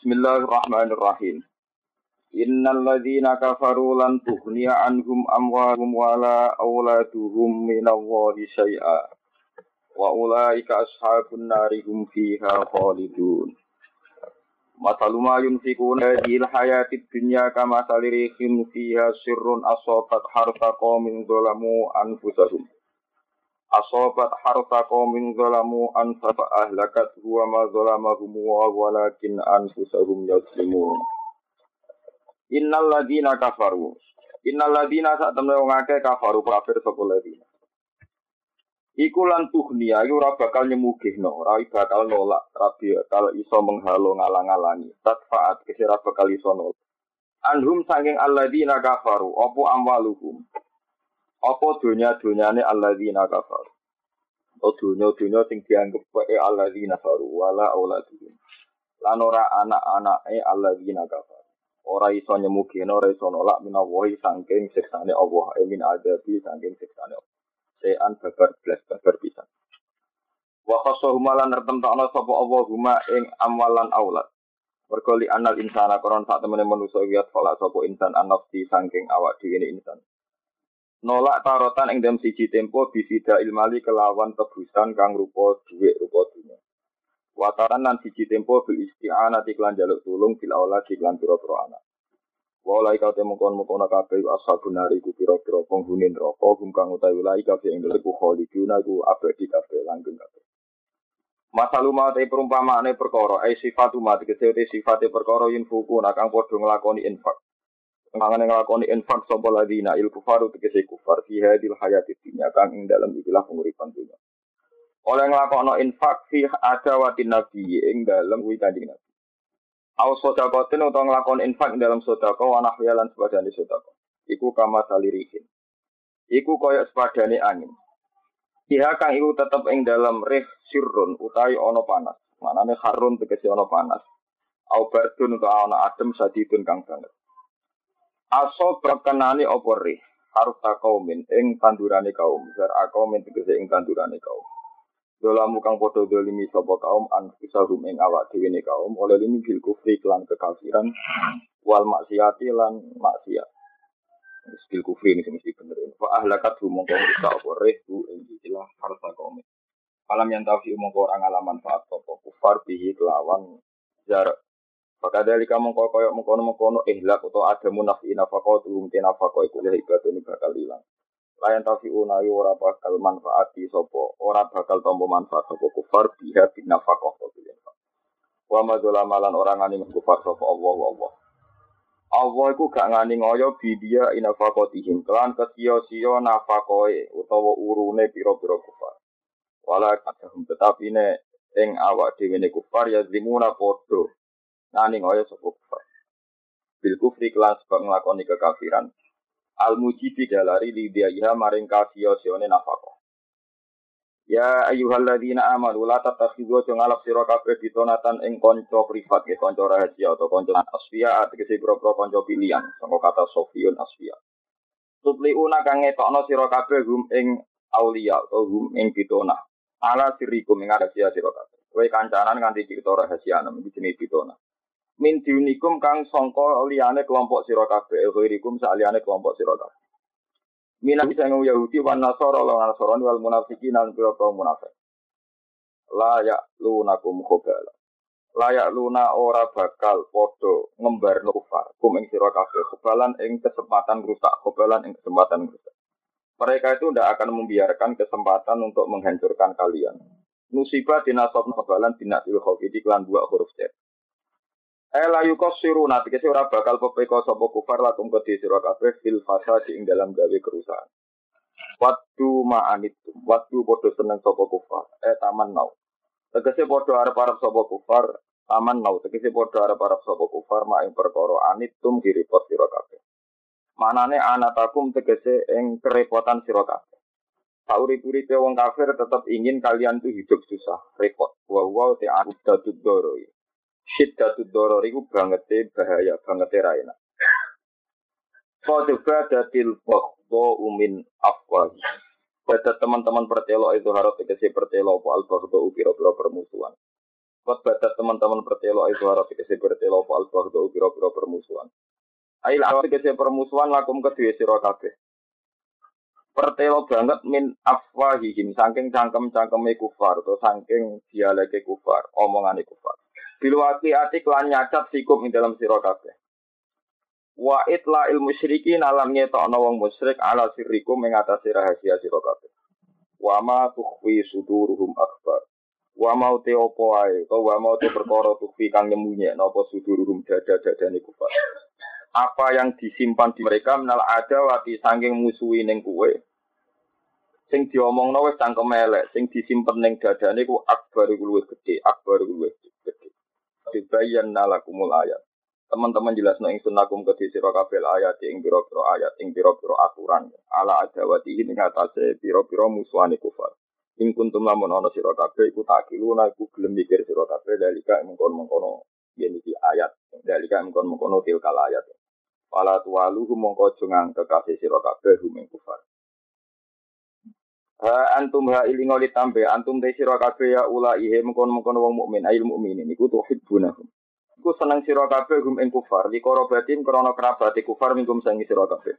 Bismillahirrahmanirrahim. Innal ladzina kafaru lan tughniya anhum amwaluhum wala auladuhum minallahi syai'a. Wa ulaika ashabun nari hum fiha khalidun. Masalu ma yunfikuna fil hayatid dunya kama salirihim fiha sirrun asabat harta qaumin zalamu anfusahum. Asobat harta qaumin zalamu anfa ahlakat huwa ma zalamahum wa walakin anfusahum yazlimun. Innal ladina kafaru. Innal ladina sak temne wong akeh kafaru kafir sapa ladina. Iku lan tuhnia iku ora bakal nyemugihno, ora bakal nolak, ora bakal iso menghalo ngalang-alangi. Tatfaat kesira bakal iso nolak. Anhum saking alladina kafaru, apa amwaluhum. Apa dunya-dunyane alladzina kafaru. O dunya-dunya sing dianggep wae alladzina kafaru wala auladuhum. Lan ora anak-anake alladzina kafaru. Ora iso nyemugino, ora iso nolak minawahi saking siksane Allah, min adabi saking siksane Allah. Sean babar blas babar pisan. Wa khasahum lan nertemtokno sapa Allah huma ing amwalan aulad. Mergo li anal insana koron sak temene manusa wiat fala sapa insan anafsi saking awak dhewe insan. Nolak tarotan ing dalam siji tempo bisida ilmali kelawan tebusan kang rupa dhuwit rupa dunya. Wataran lan siji tempo bil isti'anati lan jaluk tulung bil aulad lan pira-pira anak. Walai kau temukon kabeh ashabun nari ku pira-pira penghuni neraka hum kang utawi walai kabeh ing dalem khaliduna ku abadi kabeh langgeng kabeh. Masalu mate perumpamaane perkara ai sifatu mate kesete sifate perkara yin fuku nakang padha nglakoni infak. Mangane nglakoni infak sapa ladina il kufaru tegese kufar fi hadil hayatid dunya kang ing dalem ikilah penguripan dunya. Oleh nglakoni infak fi adawatin nabi ing dalem kuwi kanjeng Nabi. Au sedekatin utawa nglakoni infak ing dalem sedekah wa nahya lan sepadane sedekah. Iku kama salirihin. Iku kaya sepadane angin. Iha kang iku tetep ing dalem rih sirrun utawi ana panas. Manane harun tegese ana panas. Au bardun utawa ana adem sadidun kang banget. Aso berkenani opori harus takaumin ing tandurane kaum jar akaumin tegese ing tandurane kaum dolamu kang padha dolimi sapa kaum an fisahum ing awak dhewe ne kaum oleh limi bil kufri lan kekafiran wal maksiati lan maksiat bil kufri ini mesti bener fa ahlakat mongko rusak opori bu ing istilah harus takaumin alam yang tafi mongko ora ngalaman faat sapa kufar bihi kelawan jar Pakadali kamu koyok mengkono ihlak atau ada munafi nafkah turun ke nafkah itu leh ibadah ini bakal hilang. Layan tafi unayu ora bakal manfaati sopo, ora bakal tombo manfaat sopo kufar biha bin nafkah sopo biha. Wa madzulamalan orang ngani kufar sopo Allah. Allah iku gak ngani ngoyo bidia inafakotihim kelan kesio-sio nafkahe utawa urune pira-pira kufar. Wala kadhum tetapi ne ing awak dhewe ne kufar ya zimuna podo. Nani ngoyo sapa kufar. Bil kufri kelas sebab nglakoni kekafiran. Al mujibi dalari lidiya maring kafiyosione nafaqah. Ya ayyuhalladzina amanu la tattakhidhu ngalap sira kabeh ditonatan ing kanca privat ya kanca rahasia atau kanca asfiya tegese pro-pro kanca pilihan saka kata sofiyun asfiya. Tutliuna kang ngetokno sira kabeh hum ing auliya atau hum ing pitona. Ala sirikum ing rahasia sira kabeh. Kowe kancanan nganti cerita rahasia nang iki jenenge pitona. Min diunikum kang sangka liyane kelompok sira kabeh ghirikum saliyane kelompok sira kabeh minah sing Yahudi wan Nasara lan Nasrani wal munafiqin lan pira-pira munafik la ya lunakum khobala la ya luna ora bakal padha ngembarno kufar kum ing sira kabeh khobalan ing kesempatan rusak khobalan ing kesempatan rusak mereka itu tidak akan membiarkan kesempatan untuk menghancurkan kalian musibah dinasab khobalan binasil khofidi lan dua huruf jet la yukassiru nate kese ora bakal pepeko sapa kufar lakum kedhe sira kabeh fil fasadi ing dalam gawe kerusakan. Waktu ma'anitum, waktu padha seneng sapa kufar, taman nau. Tegese padha arep-arep sapa kufar, taman nau. Tegese padha arep-arep sapa kufar mak ing perkara anitum direpot sira kabeh. Manane anatakum tegese ing kerepotan sira kabeh. Sauri-uripe wong kafir tetap ingin kalian tuh hidup susah, repot. Wa ta'addud doroi. Syiddatud doror iku bangete bahaya, bangete ra enak. Fadba datil baghdha umin afwahi. Pada teman-teman pertelo itu harus tegese pertelo apa al baghdha pira-pira permusuhan. Kot badat teman-teman bertelo itu harap dikasih bertelo fal fardu pira-pira permusuhan. Ail awat dikasih permusuhan lakum kedua sira kabeh. Pertelo banget min afwahihim saking cangkem-cangkeme kufar atau saking dialeke kufar, omongane kufar. Bilwati ati lan nyacat sikum ing dalam sira kabeh. Wa itla il musyrikin alam ngetokno wong musyrik ala sirrikum ing atase rahasia sira kabeh. Wa ma tukhfi suduruhum akbar. Wa mau te opo ae, wa mau te perkara tukhfi kang nyemunye napa suduruhum dada-dadane kufar. Apa yang disimpan di mereka menal ada wati saking musuhi ning kowe. Sing diomongno wis cangkem elek, sing disimpen ning dadane ku akbar iku luwih gedhe, akbar iku luwih gedhe. Dibayan nalakumul ayat. Teman-teman jelasno ingsun lakum kedhi sira kabeh ayat ing pira-pira ayat, ing pira-pira aturan. Ala adawati ing atase pira-pira musuhane kufar. Ing kuntum lamun ana sira kabeh iku takiluna iku gelem mikir sira kabeh dalika mengkon-mengkono yen iki ayat, dalika mengkon-mengkono tilkal ayat. Wala tuwaluhu mongko aja ngangkekake sira kabeh rumeng kufar. Ha antum ha ilingo ditambe antum te sira kabeh ya ulaihe mengkon-mengkono wong mukmin ail mukminin iku tuhibbunahum. Iku seneng sira kabeh rumeng kufar likoro batin krana kerabate kufar mingkum sangi sira kabeh.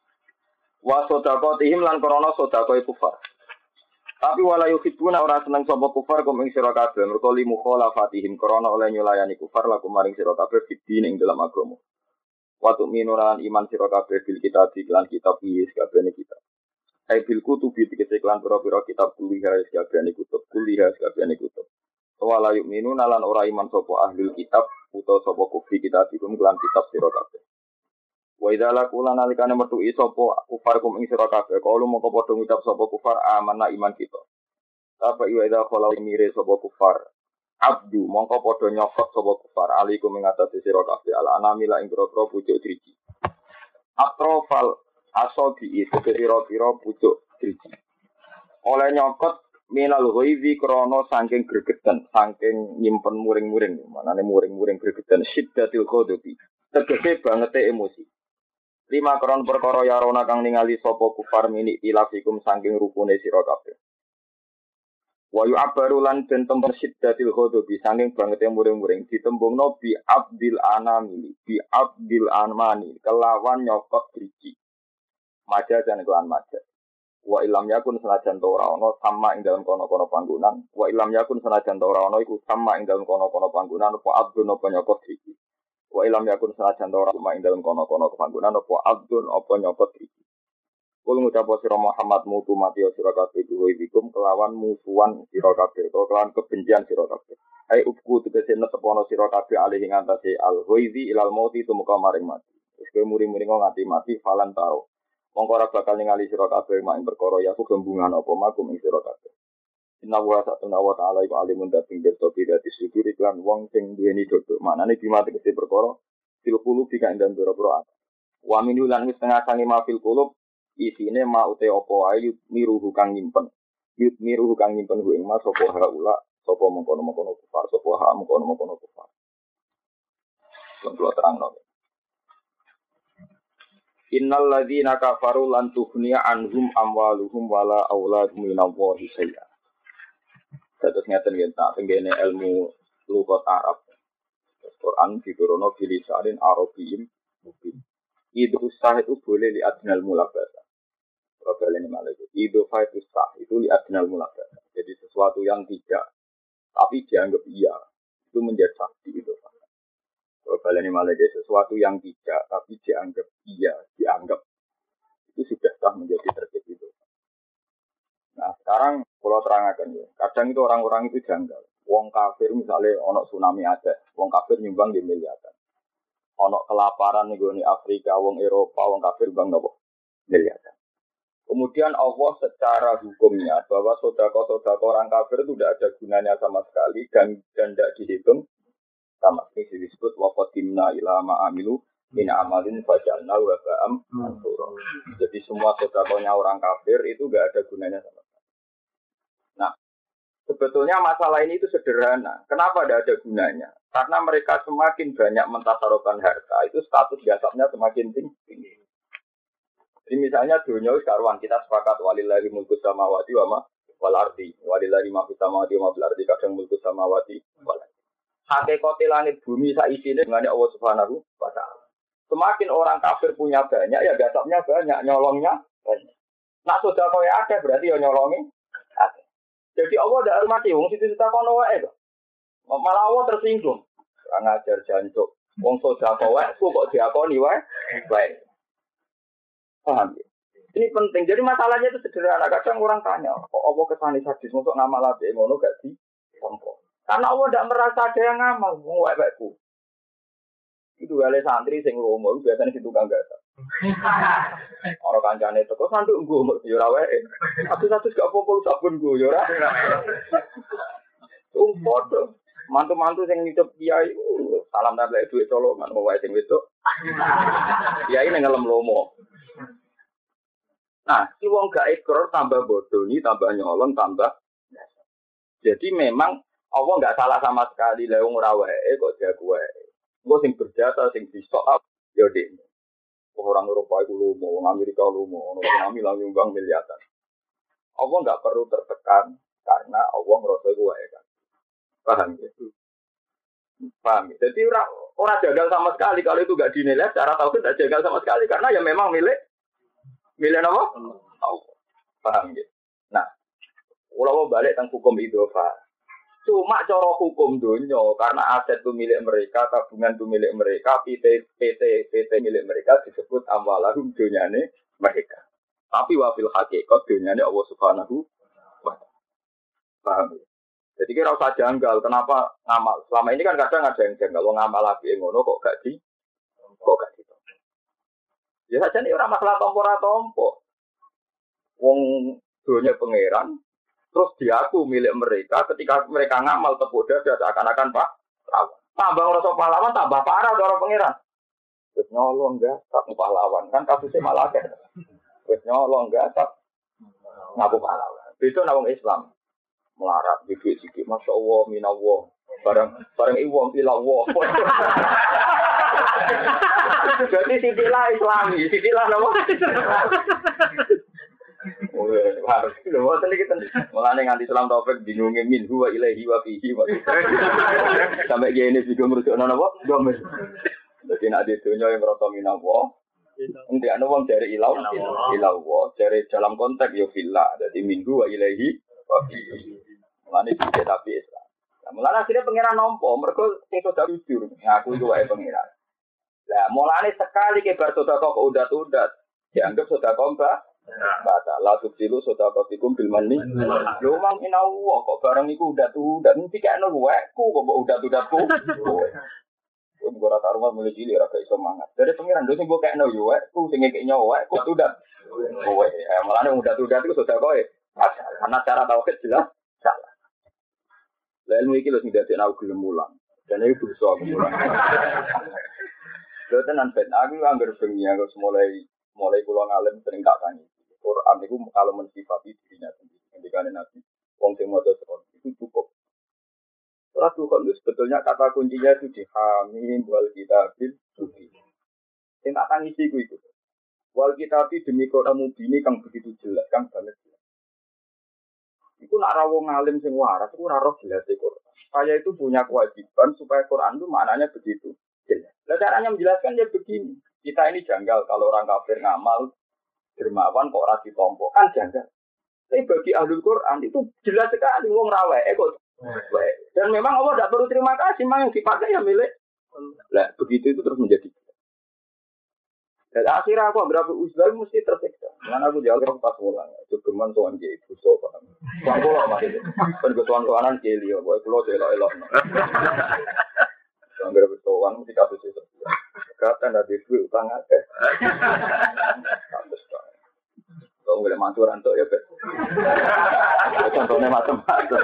Wa sadaqatihim lan krana sedekah kufar. Tapi wala yuhibbuna ora seneng sapa kufar kum ing sira kabeh mergo li mukhalafatihim krana oleh nyulayani kufar lakum maring sira kabeh fidin ing dalam agama. Wa tu'minuran iman sira kabeh bil kitab lan kitab iki kabehane kita. Ai bil kutubi dikete lan pira-pira kitab kuliah kabehane kutub. Wala yu'minuna lan ora iman sapa ahli kitab utawa sapa kufri kitab iku lan kitab sira kabeh. Wa idza laqula nalikane metu sapa kufar kum ing sira kabeh kalu moko padha ngucap sapa kufar amanna iman kita. Apa iya idza khala mire sapa kufar abdu mongko padha nyokot sapa kufar alaikum ing atase sira kabeh ala anamila ing pira-pira pucuk driji. Atrofal asobi itu pira-pira pucuk driji. Oleh nyokot minal ghaizi krana saking gregeten, saking nyimpen muring-muring, manane muring-muring gregeten syiddatil ghadabi. Tegese bangete emosi. 5 kron perkara yarona kang ningali sapa kufar mini ilafikum saking rukune sira kabeh. Wa yu'abbaru lan den temper syiddatil ghadabi saking bangete muring-muring ditembungno bi abdil anamili bi abdil anmani kelawan nyokot driji. Maja jan kelan maja. Wa ilam yakun senajan to ora ana sama ing dalam kono-kono panggonan. Wa ilam yakun senajan to ora ana iku sama ing dalam kono-kono panggonan apa abdun apa nyokot driji. Wa ilam yakun senajan ora sama ing dalem kono-kono panggonan apa abdun apa nyopot iki. Kul ngucap sira Muhammad mutu mati sira kabeh duwikum kelawan musuhan sira kabeh utawa kelawan kebencian sira kabeh. Ai upku tegese netepono sira kabeh alih ing antase al-ghaizi ilal mauti tumuka maring mati. Wis kowe muri-muri nganti mati falan tau. Mongko ora bakal ningali sira kabeh mak ing perkara ya gembungan apa makum ing sira kabeh. Inna wa ta'ala iku alimun dating berto bidati sudur iklan wong sing duweni dodo. Maknane dimati kese perkara fil qulub dika ndang pira-pira. Wa min lan wis tengah sange ma fil qulub isine ma ute apa ae miruhu kang nyimpen. Miruhu kang nyimpen ku ing mas sapa haula sapa mengkono-mengkono kufar sapa ha mengkono-mengkono kufar. Kontrol terangno. Innal ladzina kafaru lan tughniya anhum amwaluhum wala auladuhum minallahi syai'a. Terus ngeten yen tak tenggene ilmu lughat Arab. Quran diturunno bilisanin Arabiyyin mubin. Idhu sah itu boleh li adnal mulabasa. Problem ini malah itu. Idhu sah itu li adnal mulabasa. Jadi sesuatu yang tidak tapi dianggap iya itu menjadi sakti itu. Problem ini malah jadi sesuatu yang tidak tapi dianggap iya, dianggap itu sudah sah menjadi tertib itu. Nah sekarang kalau terangkan ya, kadang itu orang-orang itu janggal. Wong kafir misalnya ono tsunami Aceh, wong kafir nyumbang di miliaran. Ono kelaparan nih di Afrika, wong Eropa, wong kafir bang nopo miliaran. Kemudian Allah secara hukumnya bahwa sodako orang kafir itu tidak ada gunanya sama sekali dan tidak dihitung sama sekali disebut waqadimna ila ma'amilu min amalin fajalna wa ba'am mansura. Jadi semua sodakonya orang kafir itu tidak ada gunanya sama sekali. Nah, sebetulnya masalah ini itu sederhana. Kenapa tidak ada gunanya? Karena mereka semakin banyak mentasarufkan harta, itu status jasabnya semakin tinggi. Jadi misalnya dunia karuan kita sepakat walillahi mulku samawati wa ma wal ardi walillahi ma fis samawati wa ma fil ardi kadang mulku samawati wal ardi. Hakikate langit bumi sak isine dengan Allah Subhanahu wa taala. Semakin orang kafir punya banyak ya gasapnya banyak, nyolongnya banyak. Nak sudah kau ya ada berarti ya nyolongi ada. Jadi Allah tidak hormati wong situ kita kono wae kok. Malah Allah tersinggung. Kurang ajar jancuk. Wong sudah kau wae kok diakoni wae. Baik. Paham ya? Ini penting. Jadi masalahnya itu sederhana. Kadang orang tanya, kok Allah kesani sadis untuk ngamal ape ngono gak ditompo. Karena Allah tidak merasa ada yang ngamal. Wong wae-waeku. Itu gale santri sing lomo biasanya di tukang gasa. Orang kancane teko sanduk nggo mbok yo ora wae. Satu-satu gak apa-apa sabun nggo yo ora. Umpodo. Mantu-mantu sing nyucup kiai salam nambah duit colongan wae sing wedok. Kiai ning ngelem lomo. Nah, si wong gak ikrar tambah bodoh, tambah nyolong, tambah. Jadi memang Allah nggak salah sama sekali. Lah wong ora wae kok jago wae. Engko sing berjasa sing disok up ya dek. Orang Eropa itu lomo, orang Amerika lomo, orang kami lang nyumbang miliaran. Allah nggak perlu tertekan karena Allah merasa itu wae kan. Paham gitu. Paham. Jadi orang jagal sama sekali kalau itu nggak dinilai secara tauhid tidak jagal sama sekali karena ya memang milik apa? Allah. Paham gitu. Nah, kalau balik tentang hukum idhofa, cuma cara hukum dunia karena aset itu milik mereka, tabungan itu milik mereka, PT milik mereka disebut amwalahum dunyane mereka. Tapi wafil hakikat dunyane Allah Subhanahu wa taala. Paham ya? Jadi kira usah janggal, kenapa ngamal? Selama ini kan kadang ada yang janggal, lo ngamal lagi ngono kok gak di. Ya saja nih orang masalah tompo. Wong dunia pangeran, terus diaku milik mereka ketika mereka ngamal tepuk dada seakan-akan Pak. Tambah rasa pahlawan, tambah parah orang pangeran. Wis nyolong enggak, tak pahlawan kan kasusnya malah akeh. Wis nyolong enggak, tak ngaku pahlawan. Itu nawang Islam melarat dikit-dikit, masya Allah, minallah, bareng iwang ilallah. Jadi sitilah Islami, sitilah nama. Harus lho tadi kita mulane nganti Islam taufik bingunge min huwa ilaihi wa fihi wa. Sampai gene bingung merujukno napa? Domir. Dadi nek ade donya yang rasa minallah. Nanti ana wong dari ilallah, dari dalam konteks yo fillah. Dadi min huwa ilaihi wa fihi. Mulane iki tapi Islam. Mulane akhirnya pangeran nampa mergo sing sudah jujur ngaku iku wae pangeran. Lah mulane sekali ke bar sedekah kok udat-udat dianggap sedekah baca la subsilu sedekahatikum bil manni. Lho mang inallah kok barang iku udat-udat mesti kene waeku kok udat-udatku. Wong ora taruhan mulai cilik ora iso mangan. Dari pengiran lho sing mbok kene yo waeku sing ngekeknya waeku udat. Kowe mulane udat-udat iku sedekah karena cara tauhid jelas salah. Lah ilmu iki lho sing dadi aku gelem mulang. Dan itu dosa aku mulang. Lha tenan ben aku anggar bengi aku mulai kula ngalim sering tak tani. Quran itu kalau mensifati dirinya sendiri. Ketika Nabi wong sing maca Quran itu cukup. Surat Tuhan itu sebetulnya kata kuncinya itu di hamim wal kitabil mubin. Sing tak tangisi itu. Wal kitabi demi Quran mubin kang begitu jelas, kang banget jelas. Iku nak ra wong ngalim sing waras iku ora roh jelas Quran. Saya itu punya kewajiban supaya Quran itu maknanya begitu jelas. Nah, caranya menjelaskan ya begini. Kita ini janggal kalau orang kafir ngamal dermawan kok ora ditompo kan janggal. Tapi bagi ahlul Quran itu jelas sekali wong ra wae kok. Dan memang Allah tidak perlu terima kasih, memang yang dipakai ya milik. Lah begitu itu terus menjadi. Dan akhirnya aku berapa usaha mesti tersiksa. Karena aku jauh pas pulang. Cukuman tuan dia ibu sopan. Tuan pulau masih. Tuan-tuanan keli ya. Boy pulau elok-elok. Tuan berapa tuan mesti kasus itu. Kata ada duit utang aja. Kasus tuan. Tuan boleh mantu rantok ya bet. Contohnya macam-macam.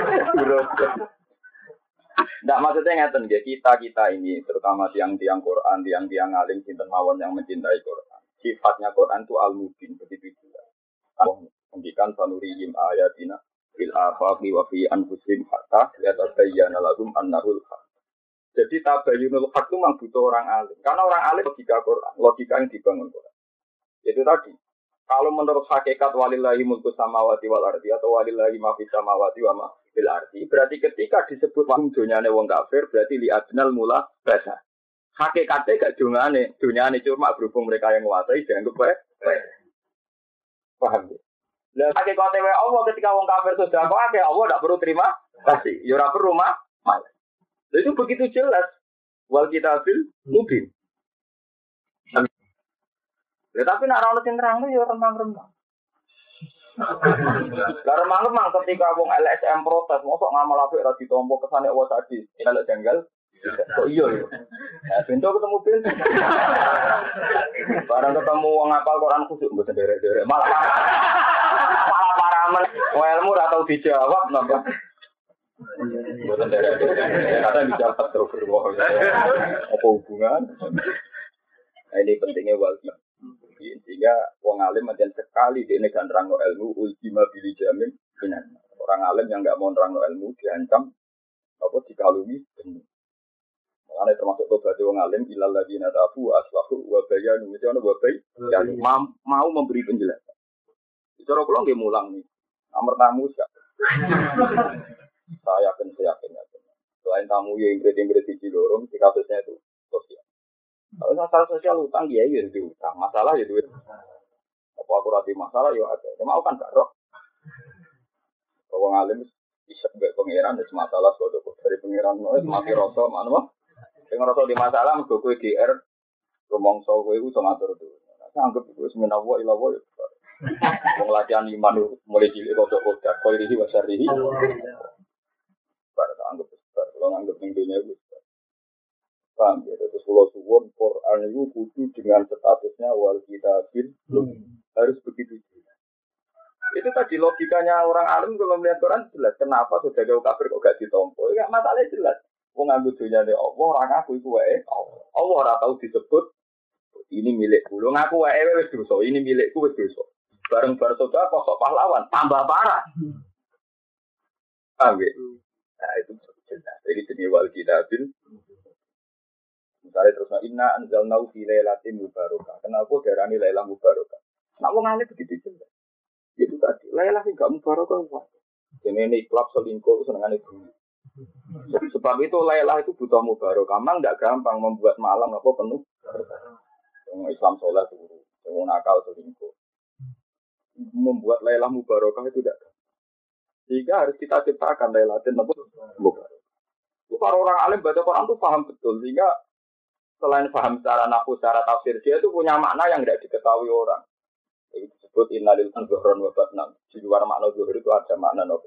Tidak maksudnya ngeten ya kita ini terutama tiang-tiang Quran, tiang-tiang alim sinten mawon yang mencintai Quran. Sifatnya Quran itu al-mubin begitu juga. Allah mendikan sanurihim ayatina fil afaqi wa fi anfusihim hatta yatabayyana lahum annahul haq. Jadi tabayyunul haq itu memang butuh orang alim. Karena orang alim logika Quran, logika yang dibangun Quran. Itu tadi Kalau menurut hakikat walillahi mulku samawati wal ardi atau walillahi ma fis samawati wa ma fil ardi, berarti ketika disebut wong dunyane wong kafir berarti li adnal mula basa. Hakikatnya gak dunyane cuma berhubung mereka yang menguasai dianggap baik. Paham ya? Lah hakikate wae Allah ketika wong kafir sudah kok akeh Allah ndak perlu terima kasih. Ya ora perlu malah. Itu begitu jelas. Wal kitabil mubin. Ya, tapi nak orang sing terang ya remang-remang. Lah remang-remang ketika wong LSM protes, mosok ngamal apik ra ditompo kesane Allah tadi. Kalau janggal kok iya ya. Nah, pintu ketemu pintu. Barang ketemu wong ngapal Quran khusyuk mboten derek-derek. Malah paramen ilmu ora tau dijawab napa. Mboten derek-derek. Kata dijawab terus berbohong. Apa hubungan? Nah, ini pentingnya wali. Sehingga wong alim macam sekali dia ini kan nerangno ilmu ultima bili jamin benar. Orang alim yang enggak mau nerangno ilmu diancam apa dikalungi benar. Makanya termasuk tobat wong alim ilal ladina tafu aslahu wa bayanu itu ana wa bay yang mau memberi penjelasan. Cara kula nggih mulang nih. Nomor tamu sak. Saya yakin. Selain tamu yang ingrid di Cilorong di kasusnya itu sosial. Kalau masalah sosial utang dia ya itu utang, masalah ya duit. Apa aku rati masalah ya ada. Mau kan gak roh. Kalau ngalim bisa gak pengiran ada masalah suatu dari pengiran mati rasa mana mah? Dengan rasa di masalah mergo kowe GR rumangsa kowe iku iso ngatur itu. Saya anggap itu semenah wa ila wa. Wong latihan iman mulai cilik kok kowe iki wasarihi. Bar anggap besar, kalau anggap ning dunia itu. Paham ya, terus kalau suwon Quran itu kudu dengan statusnya wal kitabil harus begitu juga. Itu tadi logikanya orang alim kalau melihat Quran jelas. Kenapa sudah jauh kafir kok gak ditompo? Ya masalahnya jelas. Wong nganggo dunyane Allah, ora ngaku iku wae. Allah ora tau disebut ini milikku. Lho ngaku wae wis dosa, ini milikku wis dosa. Bareng-bareng saudara kok pahlawan tambah parah. Paham ya? Nah itu jelas. Jadi jenis wal kitabil. Misalnya terus inna anzalnahu fi lailatin mubarakah. Kenapa darani lailah mubarakah? Nak wong ngene begitu jelas. Itu tadi lailah sing gak mubarakah kok. Jenenge klub selingkuh senengane bumi. Sebab itu lailah itu butuh mubarakah. Memang enggak gampang membuat malam apa penuh. Wong Islam saleh turu, wong nakal selingkuh. Membuat lailah mubarakah itu tidak. Sehingga harus kita ciptakan lailatin apa mubarakah. Kalau orang alim baca Quran itu paham betul sehingga selain paham secara nafsu, secara tafsir, dia itu punya makna yang tidak diketahui orang. Itu disebut innalil zuhron wa batnan. Di luar makna zuhur itu ada makna nopo.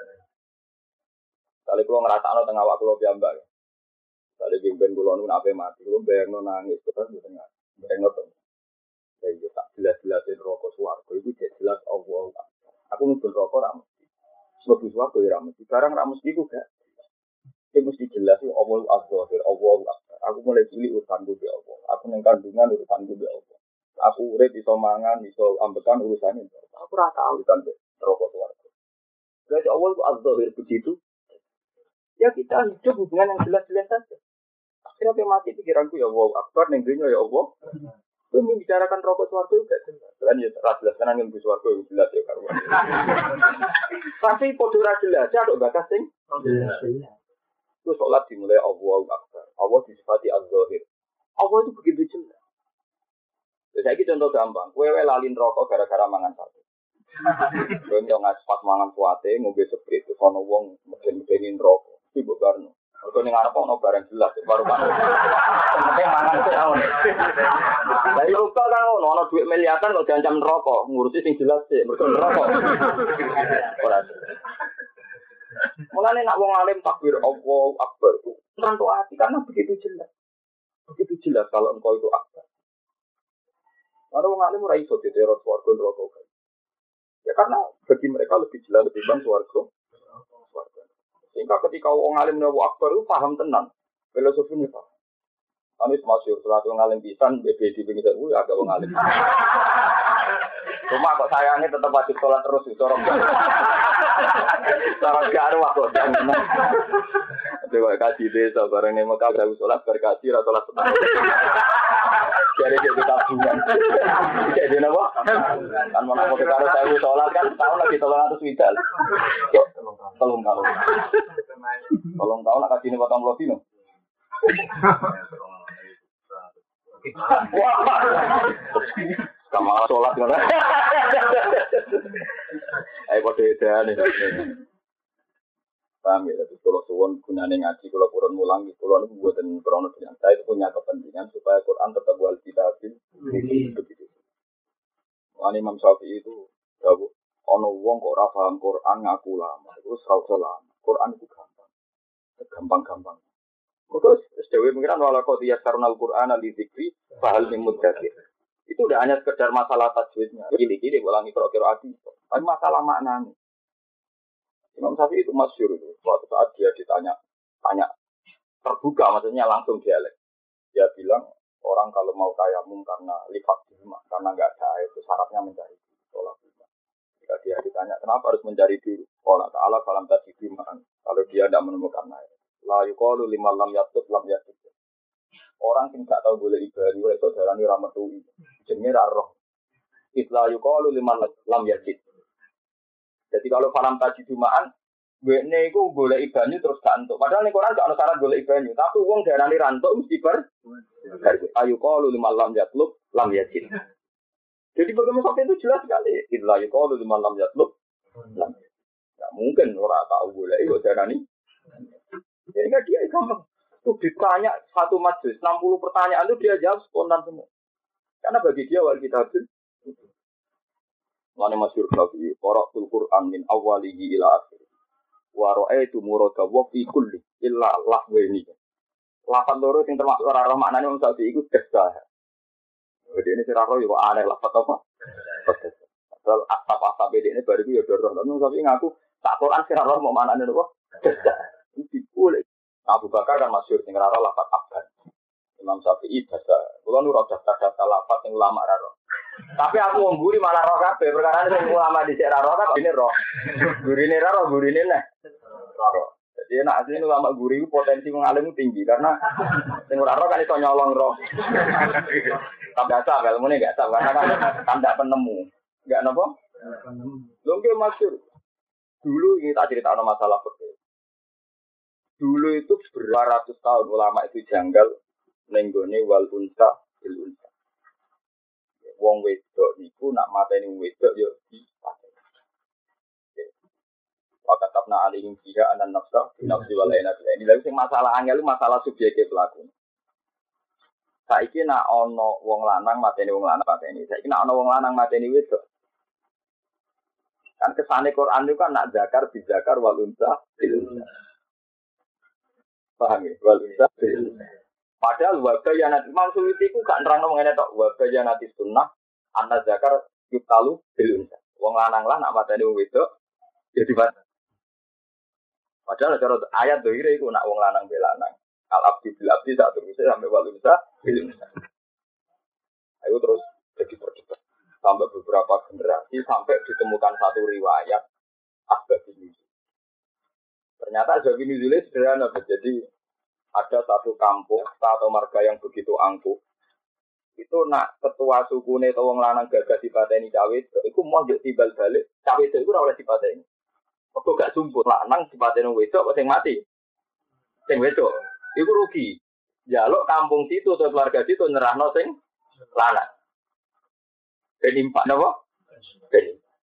Kali kalau ngerasa tengah waktu lo piambak. Kali jemben kulo nun ape mati, kulo bayangno nangis terus di tengah. Bayangno to. Ya tak jelas-jelasin rokok swarga itu jelas Allah. Aku nubul rokok ra mesti. Sebab swarga ya ra mesti. Barang ra mesti ku gak. Itu mesti jelas Allah az-zahir, Allah. Aku mulai cilik urusanku di Allah. Aku neng kandungan urusanku di Allah. Aku urip iso mangan, iso ambekan urusannya. Aku ora tahu urusan rokok swarga. Berarti Allah itu az-zahir begitu. Ya kita hidup hubungan yang jelas-jelas saja. Akhirnya mati pikiranku ya Allah akbar neng dunya ya Allah. Itu membicarakan rokok swarga juga jelas. Kan ya jelas kan angin bus swarga itu jelas ya karuan. Tapi podo ra jelas ya ada bakas sing jelas. Itu sholat dimulai Allahu Akbar. Allah disifati az-zahir. Allah itu begitu jelas. Jadi contoh gampang. Kowe lalin rokok gara-gara mangan sate. Kowe yo ngaspat mangan suate, ngombe seprit terus ana wong meden-medenin rokok. Iki mbok barno. Kok ning arep ono barang jelas baru-baru. Penting mangan sik aun. Lah yo kok kan ono duit miliaran kok diancam rokok, ngurusi sing jelas sik, mergo rokok. Ora. Mulane nak wong alim takbir Allahu Akbar itu ngantuk hati karena begitu jelas. Begitu jelas kalau engkau itu akbar. Karena wong alim ora iso diteror swarga neraka. Ya karena bagi mereka lebih jelas lebih bang swarga. Sehingga ketika wong alim Allahu Akbar itu paham tenan. Filosofinya paham. Anis masyhur salat wong alim pisan BB di pinggir kuwi agak wong alim. Cuma kok sayangnya tetap wajib sholat terus di sorong. Sorong garu aku jangan. Coba kasih desa bareng nih Mekah gawe sholat berkasih atau sholat setengah. Jadi kita tabungan. Jadi apa? Kan mau nak karo saya sholat kan tahun lagi 300 widal. Tolong kalau. Tolong tahu nak kasih ini potong dino. Wah. Kamu sholat kan? Ayo pada edan ini. Paham ya, tapi kalau suwon gunanya ngaji, kalau Quran mulang, kalau itu buatan krono dengan saya itu punya kepentingan supaya Quran tetap wal kitabin begitu. Wani Imam Syafi'i itu jauh, ono wong kok ora paham Quran ngaku lama, itu serau lama. Quran itu gampang. Terus dewe pengiran wala qad yassarnal Qur'ana lidzikri fahal min mudzakir. Itu udah hanya sekedar masalah tajwidnya. Gini-gini ulangi kira-kira tapi masalah maknanya. Imam Syafi'i itu masyhur itu. Suatu saat dia tanya terbuka, maksudnya langsung dialek. Dia bilang orang kalau mau tayamum karena lifat jima, karena nggak ada air itu syaratnya mencari sholat jima. Jika dia ditanya kenapa harus mencari dulu, Allah Taala falam tajidu ma'an. Kalau dia tidak menemukan air, la yuqalu liman lam yatub lam yatub. Orang yang nggak tahu boleh ibadah itu darani rametui. Jenenge ra roh. Itla yuqalu liman lam yatub. Jadi kalau falam tajidu ma'an, wene iku golek banyu terus gak entuk. Padahal ning Quran gak ana syarat golek banyu, tapi wong darani rantuk mesti ayu qalu liman lam yatlub lam yajid. Jadi bagaimana sampai itu jelas sekali. Idza yuqalu liman lam yatlub lam yajid. Enggak mungkin ora tahu golek kok darani. Jadi enggak dia gampang. Itu ditanya satu majelis 60 pertanyaan itu dia jawab spontan semua. Karena bagi dia wal kitabun Lani masyhur Syafi'i, qara'tul Qur'an min awwalihi ila akhir. Wa ra'aitu murada wa fi kulli illa lahwaini. Lafaz loro sing termasuk ora roh maknane wong Syafi'i iku desa. Jadi ini sira roh yo aneh lafaz apa? Asal apa beda ini baru yo doroh. Wong Syafi'i ngaku tak Quran sira roh mau maknane apa? Desa. Iki boleh. Abu Bakar kan masyhur sing ora roh lafaz abad. Imam Syafi'i desa. Kulo nu ora daftar lafaz sing ulama ra roh. Tapi aku wong guri malah roh kabeh perkara sing ulama dhisik ra roh kan ini roh. Gurine ra roh, gurine neh. Roh. Jadi nek asline ulama guri ku potensi wong alim tinggi karena sing ora roh kan iso nyolong roh. Tapi asal ilmune enggak asal karena kan ndak penemu. Enggak napa? Penemu. Lho nggih masyhur. Dulu ini tak critakno masalah fikih. Dulu itu beratus tahun ulama itu janggal ning gone wal unsa bil unsa. Wong wedok niku nak mateni wedok yo dipateni. Wakatabna alihim fiha anan nafsa nafsi wal aina bil ini. Lha sing masalah angel masalah subjeke pelaku. Saiki nak ana wong lanang mateni wong lanang pateni. Saiki nak ana wong lanang mateni wedok. Kan kesane Quran itu kan nak zakar bi zakar wal unsa bil unsa. Paham ya? Wal unsa bil unsa. Padahal wabayanat Imam Suyuti ku gak nerangno ngene tok wabayanat sunnah ana zakar yutalu bil unsa. Wong lanang lah nak mateni wong wedok jadi pateni. Padahal cara ayat dohire iku nak wong lanang bel lanang. Al abdi bil abdi sak terus sampai wal unsa bil unsa. Ayo terus jadi percepat sampai beberapa generasi sampai ditemukan satu riwayat asbab ini. Ternyata asbab ini sederhana jadi ada satu kampung atau marga yang begitu angkuh. Itu nak ketua sukune atau wong lanang gagah dipateni cawe itu mau njuk timbal balik cawe itu ora oleh dipateni. Kok gak sumput lanang dipateni wedok kok sing mati. Sing wedok iku rugi. Jaluk kampung situ atau keluarga situ nyerahno sing lanang. Ben impak napa? Ben.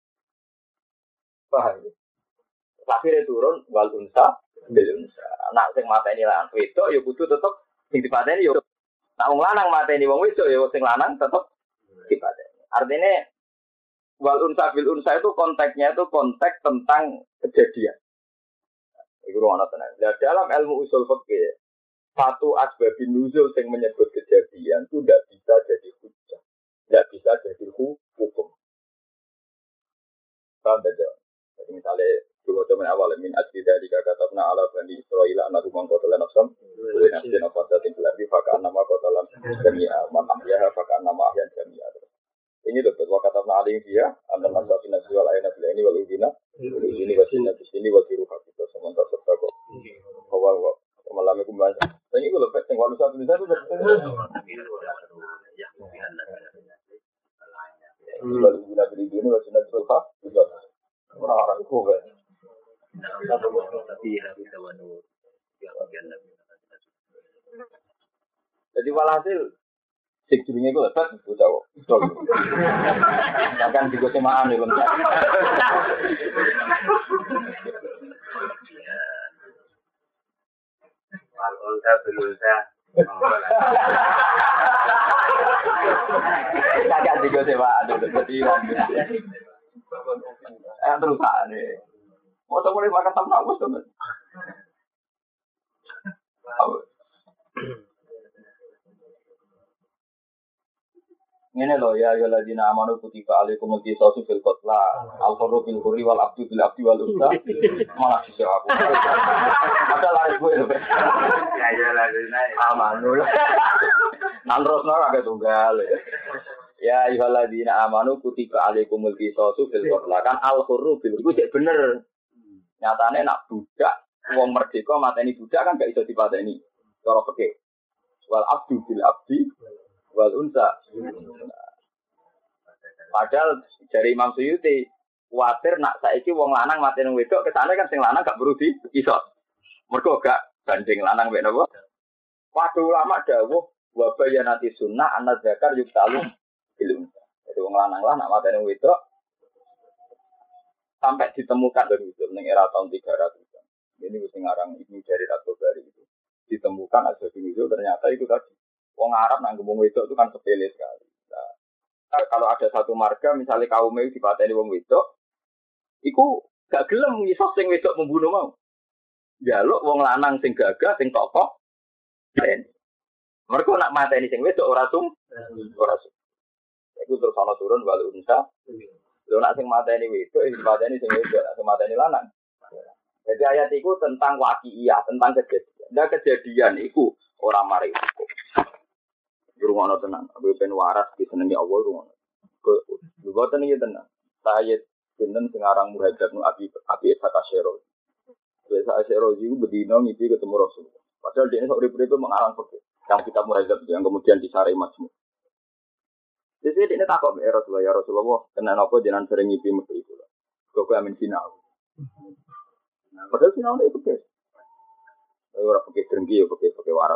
Paham. Akhire turun wal unsa bil unsa. Nak sing mateni lanang wedok ya kudu tetep sing dipateni ya. Nak wong lanang mateni wong wedok ya sing lanang tetep dipateni. Artinya wal unsa bil unsa itu konteksnya itu konteks tentang kejadian. Iku ana tenan. Nah, dalam ilmu usul fikih satu asbabun nuzul yang menyebut kejadian itu tidak bisa jadi hujjah. Tidak bisa jadi hukum. Paham tak? Jadi misalnya dulu zaman awal min ajli dari katabna ala bani Israil anahu man qatala nafsan wa nafsan fatatin fil ardi fa kana ma qatalan jami'a man ahyaha fa kana ma ahyan jami'a. Ini betul wa katabna alayhi dia anna nafsan wal ayna bil aini wal udina ini wasina bisini wa tiruha kita sementara serta kok bahwa malam itu membaca. Ini kalau pet yang walau satu bisa itu Kalau guna beli ini wajib nanti lupa, juga orang-orang kue. Jadi walhasil sik jenenge ku lebat bocah kok. Kan juga semaan lho. Alonsa belunsa. Kakak juga semaan lho jadi terusan nih. Mau mulai makan sama aku tuh. Ini loh ya ayyuhalladzina amanu kutiba alaikumul qisasu fil qatla al-hurru bil hurri wal abdu bil abdi wal unsa malah sih aku. Ada lari gue lho. Ya ayyuhalladzina amanu. Nang terusno agak tunggal. Ya ayyuhalladzina amanu kutiba alaikumul qisasu fil qatla kan al-hurru bil hurri cek bener. Nyatane nak budak wong merdeka mateni budak kan gak iso dipateni. Cara fikih. Wal abdu bil abdi wal unsa. Padahal dari Imam Suyuti kuwatir nak saiki wong lanang mateni wedok kesane kan sing lanang gak perlu diiso. Mergo gak banding lanang mek napa? Padha ulama dawuh wa bayanati sunnah ana zakar yuktalu bil unsa. Jadi wong lanang lah nak mateni wedok sampai ditemukan dari itu ning era tahun 300. Ini wis ngarang Ibnu Jarir At-Tabari itu. Ditemukan ada di itu ternyata itu tadi. Wong Arab nang ngomong wedok itu kan sepele sekali. Nah, kalau ada satu marga misalnya kaum itu dipateni wong wedok, iku gak gelem ngisos sing wedok membunuh mau. Jaluk wong lanang sing gagah sing tokoh. Mereka nak mateni sing wedok ora sum. Iku terus ana turun wal unsa. Lho nak sing mateni wedok, mateni sing wedok, sing mateni lanang. Jadi ayat itu tentang waqi'iyah, tentang kejadian. Nah kejadian itu orang mari hukum. Rumahnya tenang, aku pengen waras di senengnya Allah rumahnya. Juga tenangnya tenang. Saya jeneng sekarang muhajir nu Abi Ishaq Asy'ari. Biasa Asy'ari itu berdino ngipi ketemu Rasul. Padahal dia ini urip-urip mengarang fikih. Yang kita muhajir yang kemudian disari Majmu'. Jadi dia takut Rasulullah, ya Rasulullah, kenapa apa jenengan sering ngipi mesti itu. Kok amin sinau. Padahal sinau itu guys. Orang pakai serenggi ya pakai waras.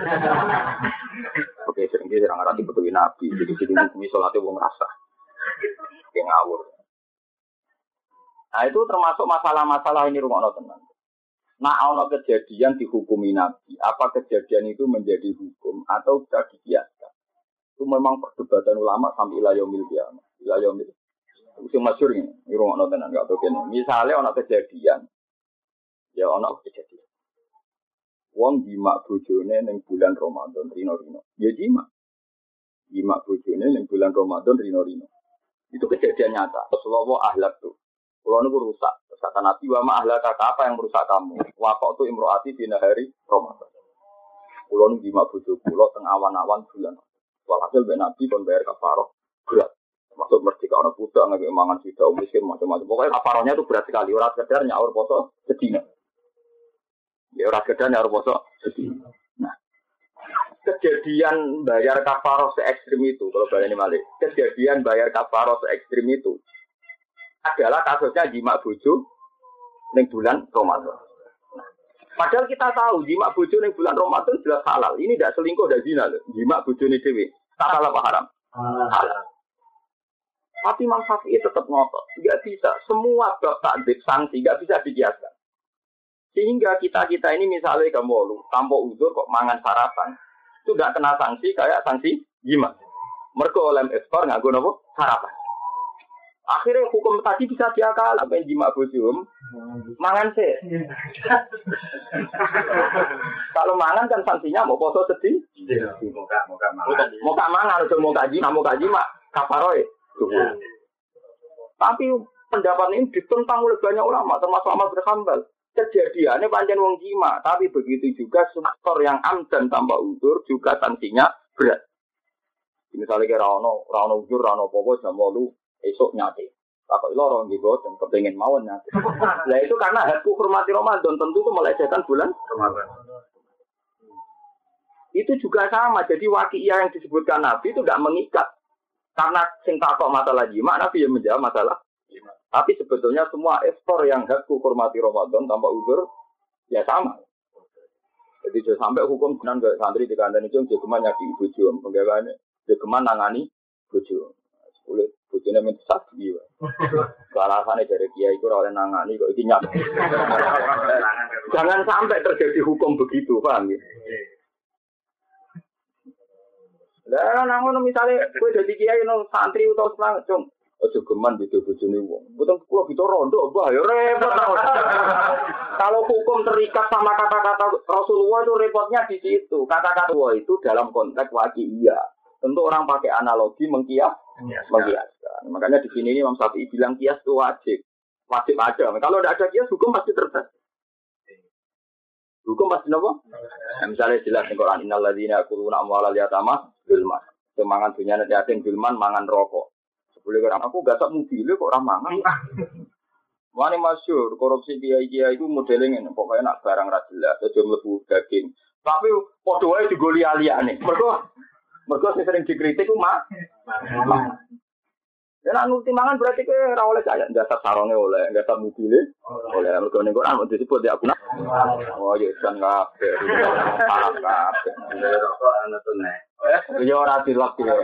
Pakai serenggi serang arati betul nabi. Jadi bumi sholatnya wong rasa. Kayak ngawur. Nah itu termasuk masalah-masalah ini rumah tenang. Nah ono kejadian dihukumi nabi. Apa kejadian itu menjadi hukum atau bisa dikiaskan? Itu memang perdebatan ulama sampai ilayomil kiamat. Ilayomil. Itu masyhur ini rumah tenang nggak tahu kan. Misalnya ono kejadian. Ya ono kejadian. Wong jimak bojone ning bulan Ramadan rino-rino. Ya jimak bojone ning bulan Ramadan rino-rino. Itu kejadian nyata. Rasulullah ahlak tuh. Kulo niku rusak. Kata Nabi wa ma ahlaka apa yang merusak kamu? Waqtu imroati dina hari Ramadan. Kulo niku jimak bojo kulo teng awan-awan bulan. Walhasil ben Nabi kon bayar kafarah berat. Masuk merdeka ana budak ngake mangan sida miskin macam-macam. Pokoknya kafarahnya itu berat sekali. Ora sekedar nyaur poso sedina. Ya ora sekedar nyaur poso sedina. Nah, kejadian bayar kafarah se ekstrim itu kalau baleni malih. Kejadian bayar kafarah se ekstrim itu adalah kasusnya jimak bojo ning bulan Ramadan. Nah, padahal kita tahu jimak bojo ning bulan Ramadan jelas halal. Ini tidak selingkuh dan zina loh. Jimak bojone dhewe. Halal apa haram? Halal. Tapi Imam Syafi'i tetap ngotot. Tidak bisa. Semua bab takdzib sanksi tidak bisa dikiaskan. Sehingga kita ini misalnya kamu tanpa uzur kok mangan sarapan. Itu tidak kena sanksi kayak sanksi jimat. Mereka oleh ekspor nggak guna sarapan. Akhirnya hukum tadi bisa diakal. Apa yang jimat bojum? Mangan sih. Kalau mangan kan sanksinya mau poso sedih. Mau mangan atau mau jimat kafaroy. Tapi pendapat ini ditentang oleh banyak ulama, termasuk Ahmad bin Hanbal. Kejadiannya panjang wong jima, tapi begitu juga faktor yang amdan tanpa uzur juga sanksinya berat. Misalnya kira rano uzur, rano popo, jam 8 esok nyate. Takut lorong gitu dan kepengen mawon nyate. Nah itu karena hakku hormati Ramadan tentu itu melecehkan bulan Ramadan. Itu juga sama. Jadi waqi'iyah yang disebutkan Nabi itu tidak mengikat. Karena sing takok masalah jima, Nabi yang menjawab masalah jima. Tapi sebetulnya semua ekspor yang hak hormati Ramadan tanpa uzur ya sama. Jadi jangan sampai hukum benar nggak santri di kandang itu jogeman nyaki bojo, penggawaannya jogeman nangani bojo. Boleh bojone minta saksi. Alasannya dari kiai itu oleh nangani kok iki nyap. Jangan sampai terjadi hukum begitu, paham ya? Lah nang misalnya kowe dadi kiai nang santri utawa selang, Cung. Aja geman gitu bojone wong. Mboten kula kita rondo, Mbah, ya repot. Kalau hukum terikat sama kata-kata Rasulullah itu repotnya di situ. Kata-kata itu dalam konteks waqi'iyah. Tentu orang pakai analogi mengkiaskan. Makanya di sini Imam Syafi'i bilang kias itu wajib. Wajib ada. Kalau tidak ada kias, hukum pasti terbatas. Hukum pasti apa? Misalnya jelas di Quran, innal ladzina yaquluna amwalal yatama bilman. Semangan dunia nanti asing bilman mangan rokok. Boleh orang aku gak tak mobil kok orang mangan. Wani masyhur korupsi kiai-kiai itu modelnya ini pokoknya nak barang ra jelas aja mlebu daging. Tapi padha wae digoli aliyane. Mergo sing dikritik ku mah. Ya nak nuti mangan berarti ke ora oleh kaya dasar sarunge oleh, dasar mobile oleh. Mergo ning Quran mesti disebut ya aku. Oh ya jan kabeh. Parah kabeh. Rokok ana tune. Ya ora dilak ya.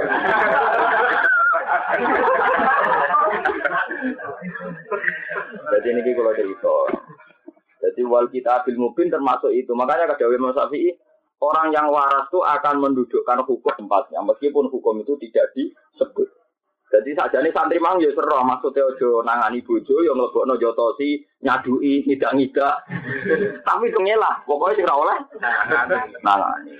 Jadi ini kalau cerita. Jadi wal kita bil mubin termasuk itu. Makanya kata Imam Syafi'i, orang yang waras itu akan mendudukkan hukum tempatnya, meskipun hukum itu tidak disebut. Jadi sajane santri mang ya sero, maksudnya ojo nangani bojo, yo mlebokno jotosi, nyadui, ngidak-ngidak. Tapi kengelah, pokoknya sing ora oleh nangani.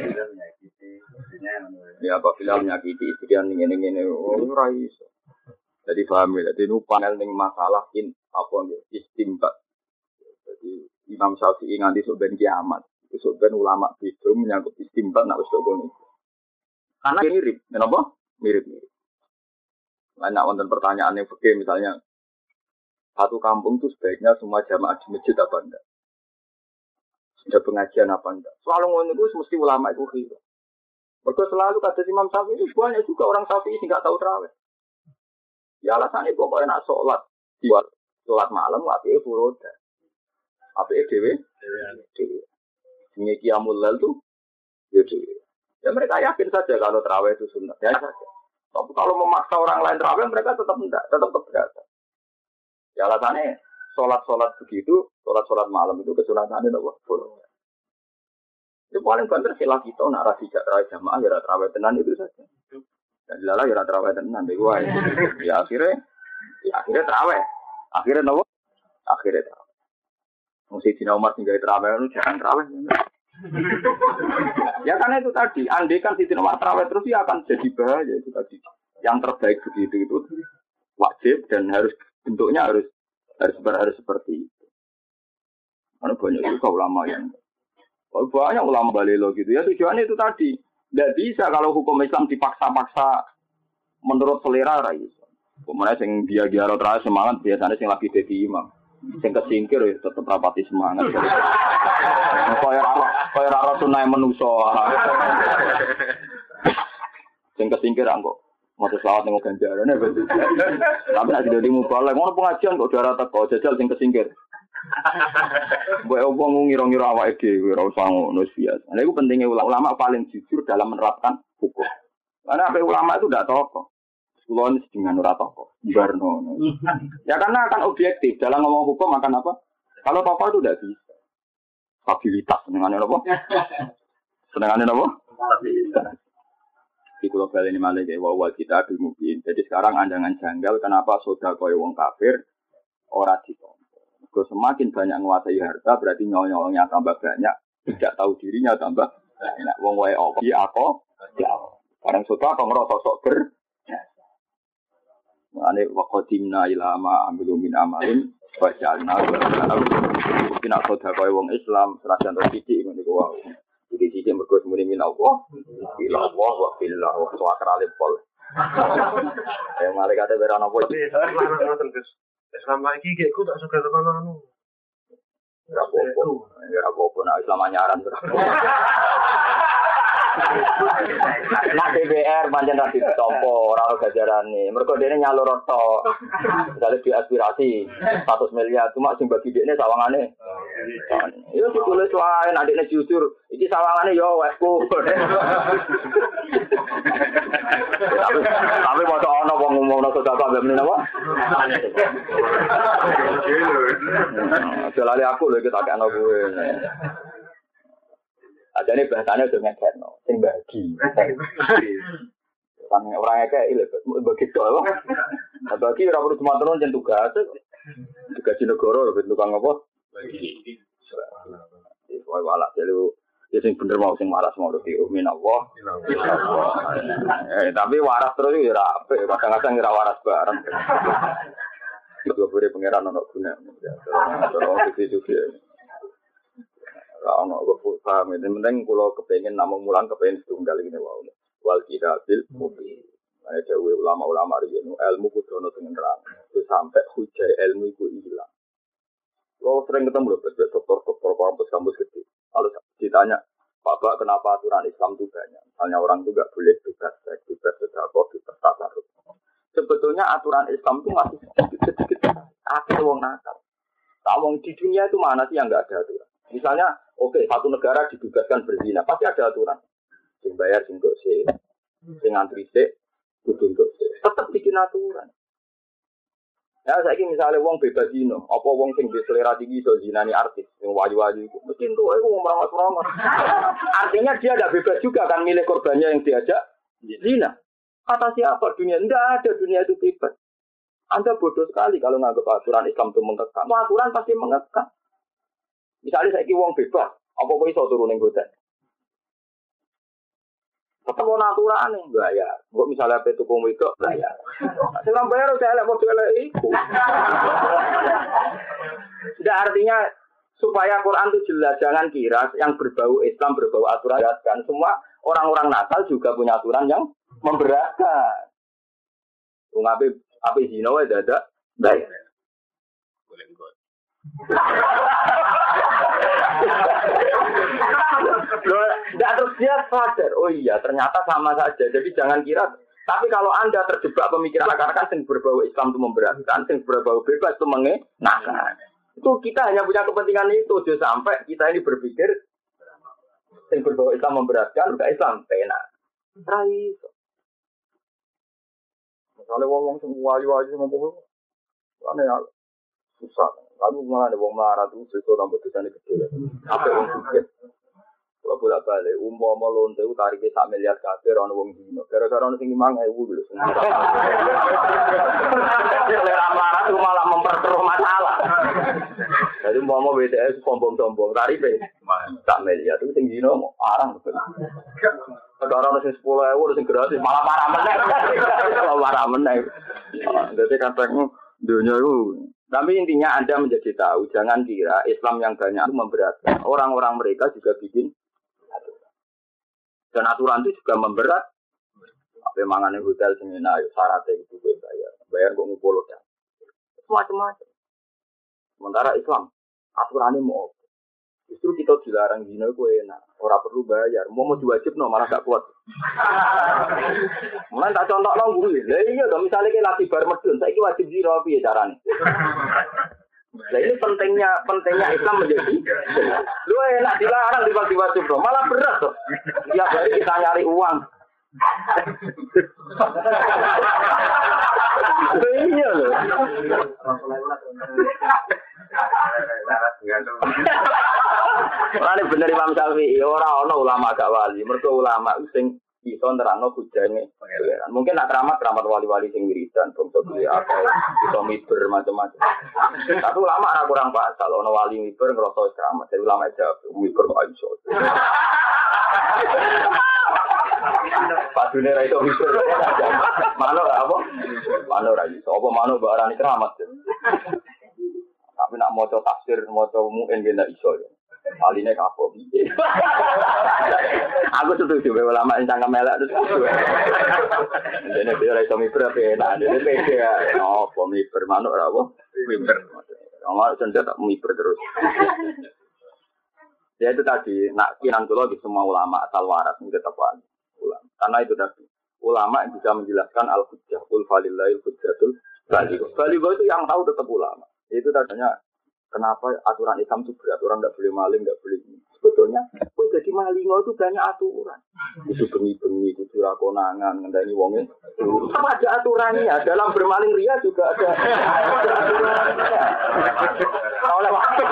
Ya apabila menyakiti istri yang ngene-ngene ora iso. Jadi paham ya, jadi nu panel ning masalah apa nggih istimbat. Jadi Imam Syafi'i nganti sok ben kiamat. Sok ben ulama beda menyangkut istimbat nek wis kok ngono. Karena mirip, menapa? Mirip-mirip. Banyak wonten pertanyaan yang fikih misalnya satu kampung itu sebaiknya semua jamaah di masjid apa enggak? Sudah pengajian apa enggak? Selalu ngono itu mesti ulama itu khilaf. Mergo selalu kata Imam Syafi'i itu banyak juga orang Syafi'i sing enggak tahu tarawih. Ya alasannya pokoknya nak sholat buat sholat malam apike furoda. Apike dhewe. Sing qiyamul lail tuh ya dhewe. Ya mereka yakin saja kalau tarawih itu sunnah. Ya saja. Tapi kalau memaksa orang lain tarawih mereka tetap enggak, tetap keberatan. Ya alasannya sholat begitu, sholat malam itu kesunatannya apa? Furoda. Itu paling banter sila kita nak ra dijak tarawih jamaah ya tarawih tenan itu saja. Dan dilala ya tarawih tenan deh gua. Ya akhirnya tarawih. Akhirnya nopo? Akhirnya tarawih. Mesti Dina Umar tinggal tarawih itu jangan tarawih. Ya karena itu tadi, andai kan Dina Umar tarawih terus ya akan jadi bahaya itu tadi. Yang terbaik begitu itu wajib dan harus bentuknya harus seperti itu. Karena banyak juga ulama yang banyak ulama balelo gitu ya tujuannya itu tadi. Tidak bisa kalau hukum Islam dipaksa-paksa menurut selera ra iso. Kemudian sing dia terus semangat biasanya sing lagi dadi imam. Sing kesingkir ya tetep rapati semangat. Kaya ora sunah manusa. Sing kesingkir kok mau selawat ning ganjarane. Tapi nek dadi mubalek ngono pengajian kok darah teko jajal sing kesingkir. Mbok wong ngira-ngira awake dhewe ora usah ngono biasa. Lha iku pentingnya ulama paling jujur dalam menerapkan hukum. Karena apa ulama itu tidak tokoh. Kulon dengan ora tokoh. Barno. Ya karena akan objektif dalam ngomong hukum akan apa? Kalau tokoh itu tidak bisa. Stabilitas senengane apa? Senengane apa? Stabilitas. Di kulo bali ini malah kayak wawal kita mungkin. Jadi sekarang andangan janggal kenapa sedekah koyo wong kafir ora ditompo. Kalau semakin banyak menguasai harta berarti nyolongnya tambah banyak, tidak tahu dirinya tambah banyak. Wong wae opo aku ya. Barang sudah kok ngerasa sok ber. Ane waqadimna ila ma amilu min amalin wa ja'alna kina sedekah koyo wong Islam serajan titik ngene ku wae. Iki sithik mergo semune min Allah. Ila Allah wa billah wa tawakkal pol. Malaikat berana apa iki? Selama ini aku tak suka dengan anu. Ya apa-apa nak Islam anyaran berapa. Nak DPR pancen ra ditompo ora ono gajarane. Mergo dene nyalur tok. Misale diaspirasi 100 miliar cuma sing bagi dekne sawangane. Yo ditulis wae nek dekne jujur, iki sawangane yo wesku. Tapi mau ono wong ngomongno sedekah mbek menapa? Jalane aku lho iki tak ana kowe. Adane bahasane udah ngekno, sing bagi. Kan ora ngekek lho, bagi tok lho. Bagi ora perlu cuma turun jen tugas. Tugas negara lho tukang apa? Bagi. Wae walak dulu. Ya sing bener mau sing waras mau di umin Allah. Tapi waras terus ya ora apik, kadang-kadang ora waras bareng. Itu boleh pangeran ono guna. Terus itu lah ono kok paham itu penting kula kepengin namung mulang kepengin setunggal ini wae wal kidabil mubin ada ulama-ulama riyen ilmu kudu ono sing nerang sampai hujai ilmu iku ilang kalau sering ketemu lho dokter kampus gede kalau ditanya Bapak kenapa aturan Islam itu banyak misalnya orang itu enggak boleh bebas sedekah bebas tasarruf sebetulnya aturan Islam itu masih sedikit akeh wong nakal wong di dunia itu mana sih yang enggak ada aturan misalnya, oke, satu negara dibebaskan berzina, pasti ada aturan. Sing bayar, sing untuk sih, sing antri sih, kudu untuk sih. Tetap bikin aturan. Ya, saya ini misalnya wong bebas zina, apa wong sing selera tinggi so zinani artis, yang waju-waju itu, mesti itu wong merawat-merawat. Artinya dia tidak bebas juga kan milih korbannya yang diajak zina. Kata siapa dunia? Tidak ada dunia itu bebas. Anda bodoh sekali kalau nganggap aturan Islam itu mengekang. Aturan pasti mengekang. Misalnya saya wong bebas, apa kok iso turun ning hotel? Tetep ana aturane, bayar. Kok misalnya pe tuku wedok, bayar. Sing ora bayar saya lek padha elek iku. Tidak artinya supaya Quran itu jelas, jangan kira yang berbau Islam, berbau aturan kan semua orang-orang nakal juga punya aturan yang memberatkan. Wong ape zina wae dadak bayar. Boleh kok. Tidak terus dia sadar, oh iya ternyata sama saja. Jadi jangan kira. Tapi kalau Anda terjebak pemikiran akar-akar yang berbau Islam itu memberatkan, yang berbau bebas itu mengenakan. Itu kita hanya punya kepentingan itu. Jangan sampai kita ini berpikir yang berbau Islam memberatkan, bukan Islam enak. Rai. Misalnya wong semua wali-wali ngomong, aneh ya susah. Lalu malah ada wong melarat itu itu tambah dosane gede. Apa wong sugih. Kalau bolak-balik umpama lonte itu tarike 1 miliar kabeh ana wong dino. Gara-gara ana sing 5.000 lho. Selera melarat itu malah memperkeruh masalah. Jadi umpama BTS sombong-sombong tarife 1 miliar itu sing dino arang betul. Kalau ana sing 10.000 sing gratis malah parah meneh. Malah parah meneh. Dadi kadang dunia itu. Tapi intinya Anda menjadi tahu, jangan kira Islam yang banyak itu memberatkan. Orang-orang mereka juga bikin aturan. Dan aturan itu juga memberat. Apa mangane hotel semena, syaratnya itu bayar. Bayar kok ngumpul ya. Macam-macam. Sementara Islam, aturannya mau. Justru kita dilarang zina itu enak. Orang perlu bayar. Mau diwajib no malah gak kuat. Mulai tak contoh no guru. Lah iya dong misalnya kita latih bar medun, saya wajib zina piye carane. Lah ini pentingnya Islam menjadi. Lu enak dilarang diwajib no, malah berat tuh. Tiap hari kita nyari uang. Iya loh. Ora bener Imam Syafi'i, ora ana ulama gak wali. Mergo ulama sing iso nerangno bujane pangeran. Mungkin nak keramat wali-wali sing wiridan, bangsa duwe akal, iso miber macam-macam. Tapi ulama ora kurang pasal, ana wali miber ngrasa keramat. Jadi ulama jawab, miber kok iso. Padune ra iso miber. Manuk apa? Manuk ra iso. Apa manuk mbok arani keramat. Tapi nak maca tafsir, maca mu'in ben iso ya. Aline kapok. Aku setuju ulama sing cangkem elek terus. Dene ora iso miber ape enak. Dene pede ya. Apa miber manuk ora apa? Miber. Ora sendet tak miber terus. Ya itu tadi, nak kinan kula di semua ulama asal waras ini tetap ulama. Karena itu tadi, ulama yang bisa menjelaskan al-hujjah, ul falillahil hujjatul baligh. Baligh itu yang tahu tetap ulama. Itu tadinya kenapa aturan Islam itu berat, orang tidak boleh maling, tidak boleh ini. Sebetulnya, jadi maling itu banyak aturan. Itu bengi-bengi, itu rakonangan, ngendani wongnya. Sama ada aturannya, dalam bermaling ria juga ada aturannya. Oleh waktu.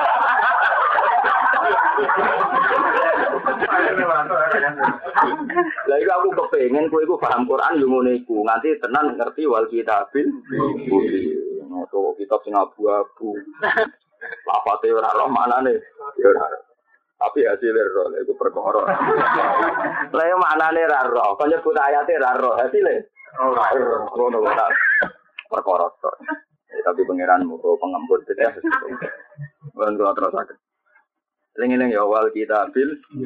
Lah iku aku kepengen kowe iku paham Quran yo ngono iku. Nganti tenan ngerti wal kitabil. Noto kitab sing abu-abu. Lafate ora roh maknane. Ya ora. Tapi hasilnya roh iku perkara. Lah yo maknane ra roh. Kok nyebut ayate ra roh. Hasilnya ora roh. Ngono kok. Perkara tok. Tapi pangeranmu kok pengempur ya. Wan terus sakit. Lengen ya wal kitabil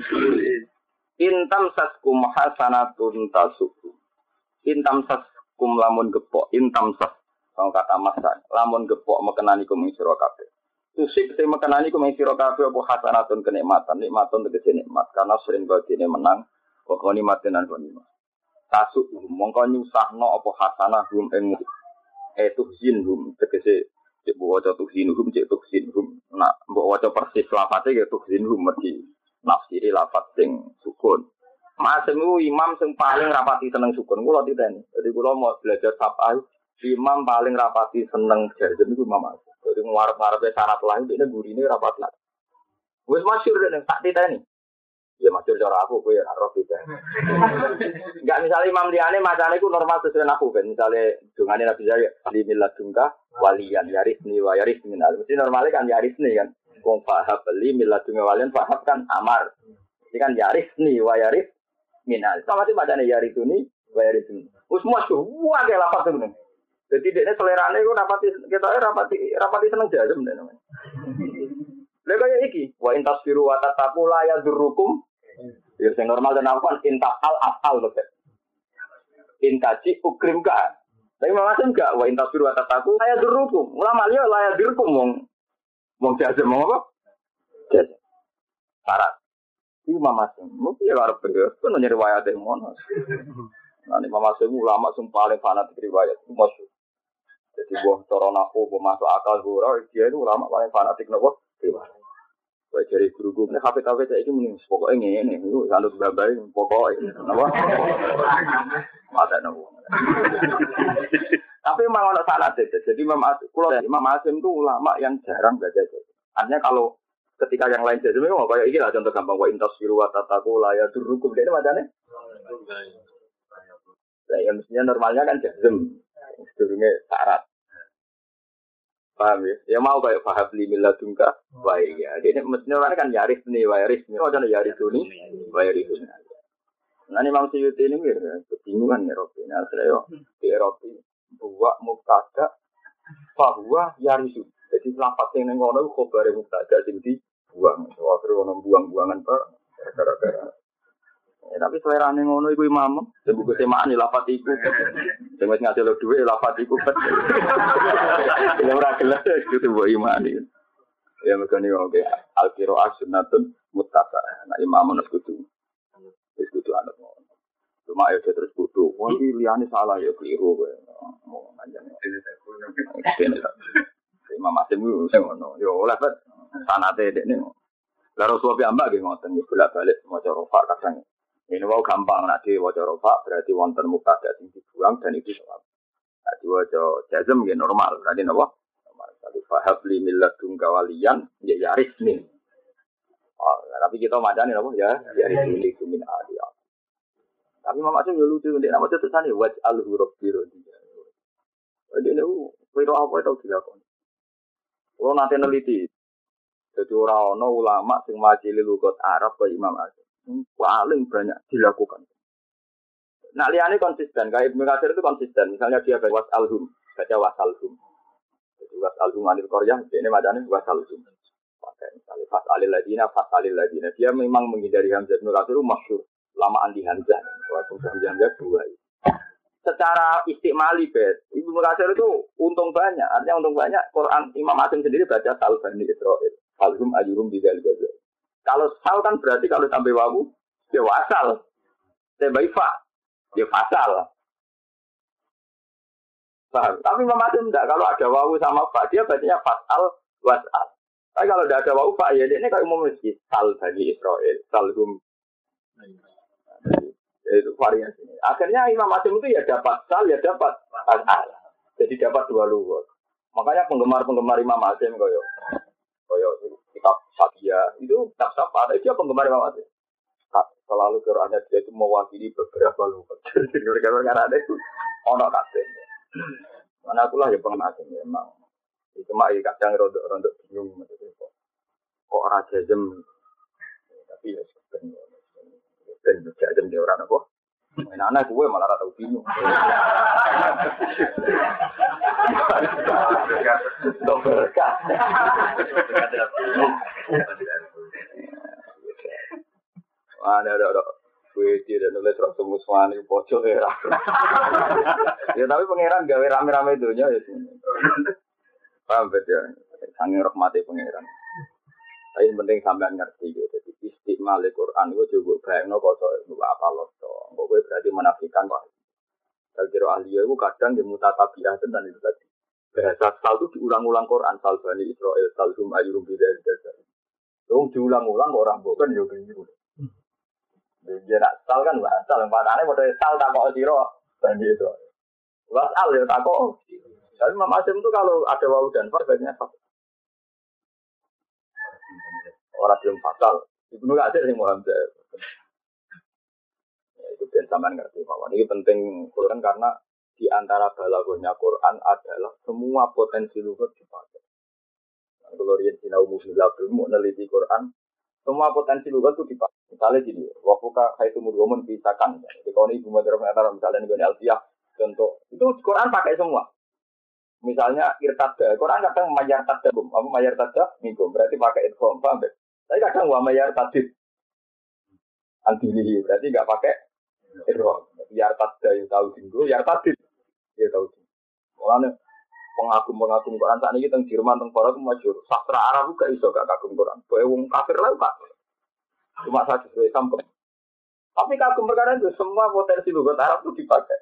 intam saskum hasanatun tasuku intam saskum lamun gepok intam sas kata masan lamun gepok mekenani kum ing sira kabeh tusik te mekenani kum ing sira kabeh apa hasanatun kenikmatan nikmatun tegese nikmat karena sering badine menang kok nikmatin lan nikmat tasuk mongko nyusahno apa hasanah hum ing tuhzinhum tegese cek waca tuhzinhum cek tuhzinhum nak mbok waca persis lafate ya tuhzinhum mesti nafsiri lafat sing sukun. Masemu imam sing paling rapati seneng sukun kula titeni. Jadi kula mau belajar safal imam paling rapati seneng jajem iku Imam Asy'ari. Jadi ngarep-ngarepe syarat lain dene gurine rapat lah. Wis masyhur nek tak titeni. Ya masyhur cara aku kowe ora roh titeni. Enggak misalnya imam liyane macane iku normal sesuai aku ben misale dungane Nabi Zaya limillah dungka waliyan yarisni wa yarisni minal. Mesti normalnya kan yarisni kan. Wong fahab li miladunga walian fahab kan amar. Ini kan yarisni wa yaris minal. Sama sih macane yarisuni wa yarisni. Wis masyhur wae lapat temen. Jadi dekne selerane iku rapati seneng jajem namanya. Lha kaya iki wa intasfiru wa tataku la yadurrukum. Ya sing normal dan apa intaqal afal lho. Intaji ukrim ka. Tapi macam enggak wa intasfiru wa tataku la yadurrukum. Ulama liya la yadurrukum wong jajem mau apa? Jajem. Syarat. Iki Imam Asy'ari. Mesti ya arep bener. Kono riwayat e ngono. Nah, Imam Asy'ari ulama sing paling fanatik riwayat. Masyhur. Jadi buah cara nafu masuk akal ora dia itu ulama paling fanatik nopo? Riwayat. Wae jare guru-guru nek HP-HP saiki mending pokoke ngene niku sanut babai pokoke napa? Mata nopo. Tapi memang ada salah deh. Jadi Imam Asy'ari itu ulama yang jarang baca jazm. Artinya kalau ketika yang lain jazm memang kayak ini lah contoh gampang wa intasfiru wa tataku la yadurrukum ini macamnya. Nah, yang mestinya normalnya kan jazm. Sedurunge syarat. Paham ya? Ya mau kayak fahab li milladunka wa ya. Ini mestinya orang kan yaris nih wa yaris nih. Macam yarisuni wa yarisuni. Nah, Imam Suyuti ini kebingungan ya Robi. Nah, saya di Eropa buat mubtada bahwa yarisu. Jadi lafaz yang ngono khabare mubtada sing dibuang. Akhire ono buang-buangan Pak gara-gara. Tapi selerane ngono iku imam. Sing buku semaan lafaz iku. Sing wis ngasil dhuwit lafaz iku. Ora gelem itu mbok imani. Ya mekane oke al-qira'ah sunnatun muttaba. Nah imam nus kudu. Wis kudu anut ngono. Cuma ya terus kudu. Wong iki liyane salah ya keliru kowe. Mau panjang. Imam Asy'ari sing ngono. Yo oleh bet sanate dekne. Lah Rasulullah ambak nggih ngoten bolak-balik maca rofa kadang. Ini mau gampang nek diwaca rofa berarti wonten mubtada sing dibuang dan itu sawab. Nek diwaca jazm nggih normal. Berarti napa? Normal. Tapi fahab li milladunka waliyan ya yarisni. Oh, tapi kita macane napa ya yarisni min aliyah. Tapi mama tuh lucu ndek nama tulisane waj'al huruf biru. Jadi niku kira apa itu dilakoni. Kalau nanti neliti, jadi orang ulama sing majili lugat Arab ke Imam Asy'ari paling banyak dilakukan. Nah liane konsisten, kayak Ibnu Katsir itu konsisten. Misalnya dia baca wasalhum, baca wasalhum. Jadi wasalhum anil qaryah, ini macamnya wasalhum. Pakai misalnya fasalil ladina. Dia memang menghindari Hamzah. Ibnu Katsir itu masyhur lama andi Hamzah. Walaupun Hamzah dua. Secara istimali bet, Ibnu Katsir itu untung banyak. Artinya untung banyak. Quran Imam Asy'ari sendiri baca Salbani Israil. Salhum ajurum bidzal gaza. Kalau sal kan berarti kalau tambah wawu, ya wasal. Tambah fa, ya fasal. Paham? Tapi Imam Asim enggak, kalau ada wawu sama fa, dia bacanya fasal, wasal. Tapi kalau tidak ada wawu fa, ya ini kayak umum masjid. Sal Bani Israel, salhum. Itu variasi. Akhirnya Imam Asim itu ya dapat sal, ya dapat fasal. Jadi dapat dua lugat. Makanya penggemar-penggemar Imam Asim koyo kitab Satya itu kitab apa? Dia penggemar Imam Asim. Selalu Qurannya dia itu mewakili beberapa lugat. Jadi karena ada itu ono kabeh. Mana aku lah ya penggemar Asim memang. Itu mah kadang rontok bingung kok raja jem. Tapi ya sebenarnya jam dia orang apa? Anak gue malah rata bingung. Berkah. Ada gue tidak nulis rasul muswani pojok ya. Ya tapi pangeran gawe rame-rame dunia ya. Paham betul. Sange rahmati pangeran. Tapi yang penting sampean ngerti gitu. Jadi istiqmal Al-Quran itu juga bayangno kosok itu apa loh. Pokoknya berarti menafikan wah. Kalau kira ahli itu kadang di mutatabiah dan itu tadi. Bahasa sal itu diulang-ulang Quran. Sal Bani Israel, salhum ayyurum bidayah dasar. Itu diulang-ulang orang bukan juga gitu. Dia nak sal kan bahasa yang padahal pada sal tak kok siro Bani Israel. Wasal ya tak kok. Tapi Imam Asim itu kalau ada wawu dan fa biasanya fa. Orang belum fatal. Ibnu Katsir sing Muhammad. Ya, itu ben sampean ngerti bahwa ini penting Quran karena di antara balaghahnya Quran adalah semua potensi lughat dipakai. Kalau riyen sinau musnilab mau neliti Quran, semua potensi lughat itu dipakai. Misalnya gini, waktu kaitu mudhomun pisakan. Jadi kalau ini Ibu Madruf antara misalnya dengan Alfiyah contoh, itu Quran pakai semua. Misalnya irtada, Quran kadang mayar tadabum, apa mayar tada minggu, berarti pakai idgham, paham? Tapi kadang wa mayar tadid antilihi, berarti enggak pakai idgham. Yar tada yang tahu minggu, yar tadid ya tahu. Mulane pengagum-pengagum Quran saat ini teng Jerman teng Barat masyhur. Sastra Arab juga iso gak kagum Quran. Kowe wong kafir lah Pak. Cuma saja sesuai sampel. Tapi kagum perkara itu semua potensi lughat Arab itu dipakai.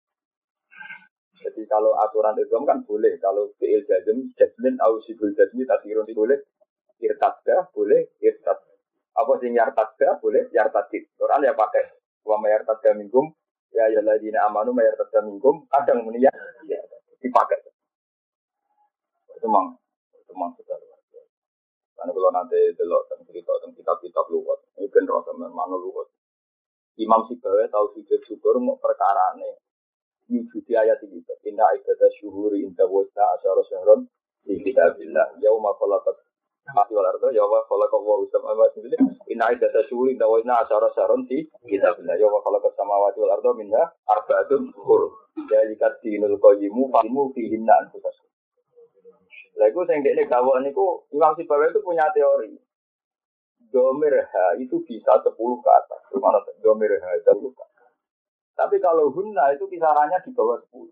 Jadi kalau aturan Islam kan boleh, kalau fi'il jazmin au sibul jazmi tasirun boleh, irtadda boleh, irtad. Apa sing yartadda boleh, yartadid. Quran ya pakai wa mayartadda minkum ya ayyuhalladzina amanu mayartadda minkum kadang muni ya dipakai. Itu memang sudah luar biasa. Karena kalau nanti delok cerita tentang kitab-kitab luwat, ini ben rasa mana luwat. Imam Sibawi tahu sujud syukur mau perkarane wujud ayat ini. Inna ibadah syuhuri inta wajna asyara syahron di kitabillah. Yauma khalaqat mati wal ardo yauma khalaqa wa samawati wal ardo. Inna ibadah syuhuri inta wajna asyara syahron di kitabillah. Yauma khalaqat samawati wal ardo minha arba'atun hurum. Jalikat dinul qayyimu fahimu fihinna anfusakum. Lagu sing dekne gawon niku Imam Sibawi itu punya teori. Domir ha itu bisa 10 ke atas. Mana domir ha 10 ke atas. Tapi kalau hunna itu kisarannya di bawah 10.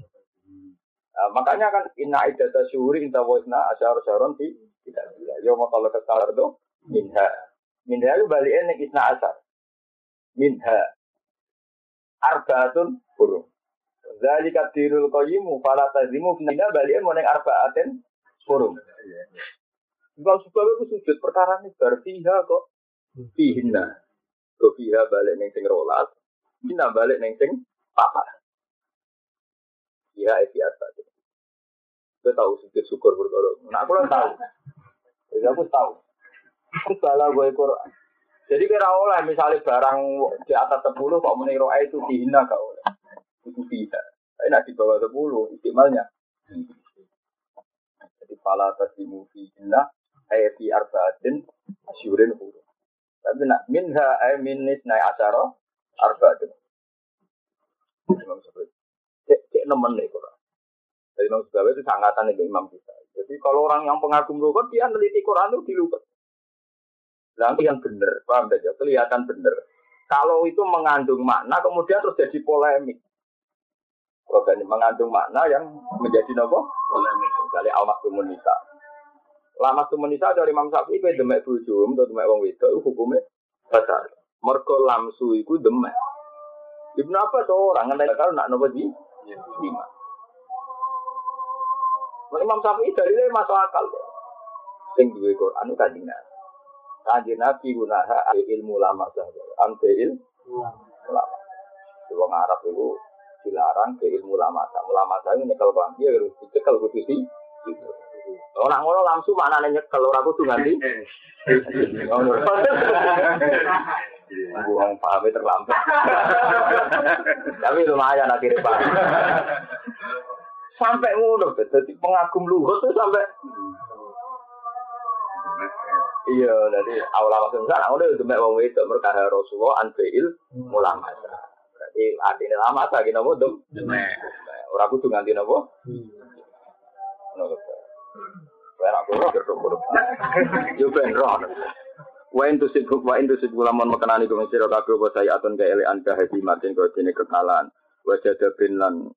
Nah, makanya kan inna iddata syuhuri inta wajna asyara syaron di tidak bila. Ya kalau kesalahan itu minha. Minha itu baliknya nek isna asar. Minha arba'atun hurum. Zalika dirul qayyimu fala tazimu minha baliknya mau nek arba'atin hurum. Kalau sebab itu sujud perkara ini berfiha kok fihinna. Kok fiha balik ning sing rolas. Kita balik neng sing papa. Ya itu biasa. Kita tahu sujud syukur berkorban. Nah aku tahu. Jadi aku tahu. Aku salah gue Quran. Jadi kira oleh misalnya barang di atas 10 kok meniru itu dihina gak oleh. Itu tidak. Tapi nak di bawah 10 istimalnya. Jadi pala tasimu dihina ayat di arba'atin asyurin huruf. Tapi nak minha minis naik asyara arba'atin. Imam Syafi'i. Cek nemen nih Quran. Jadi Imam Syafi'i itu sangatan dengan Imam kita. Jadi kalau orang yang pengagum lughat dia meneliti Quran itu di lughat. Nanti yang benar, paham saja, kelihatan benar. Kalau itu mengandung makna kemudian terus jadi polemik. Kalau mengandung makna yang menjadi nopo polemik. Misalnya al-maktumun nisa. Lama tu menisa dari Imam Syafi'i kowe demek bojomu utawa demek wong wedok hukume batal. Mergo lamsu iku demek. Ibnu Abbas orang ngenteni kalau nak nopo di lima. Imam Syafi'i dalile masuk akal. Sing duwe Quran kanjeng Nabi. Kanjeng Nabi gunaha ilmu lama saja. Ambil ulama. Wong Arab itu dilarang ke ilmu lama. Ulama saya nyekel bang dia harus dicekel kudu sih. Ora ngono langsung maknane nyekel ora kudu nganti. Ngono. Buang paham terlambat. Tapi lumayan akhirnya Pak. Sampai ngono dadi pengagum luhur tuh sampai iya, jadi awal sana udah demek wong wedok merkah Rasulullah anfil ulama. Berarti artine lama ta ki napa dem? Demek. Ora kudu nganti napa? Ngono. Ora kudu yo ben roh. Wa intu sibuk lamun mekenani ku sira kabeh apa saya atun ka ele anda hadi matin ko dene kekalan. Wajad bin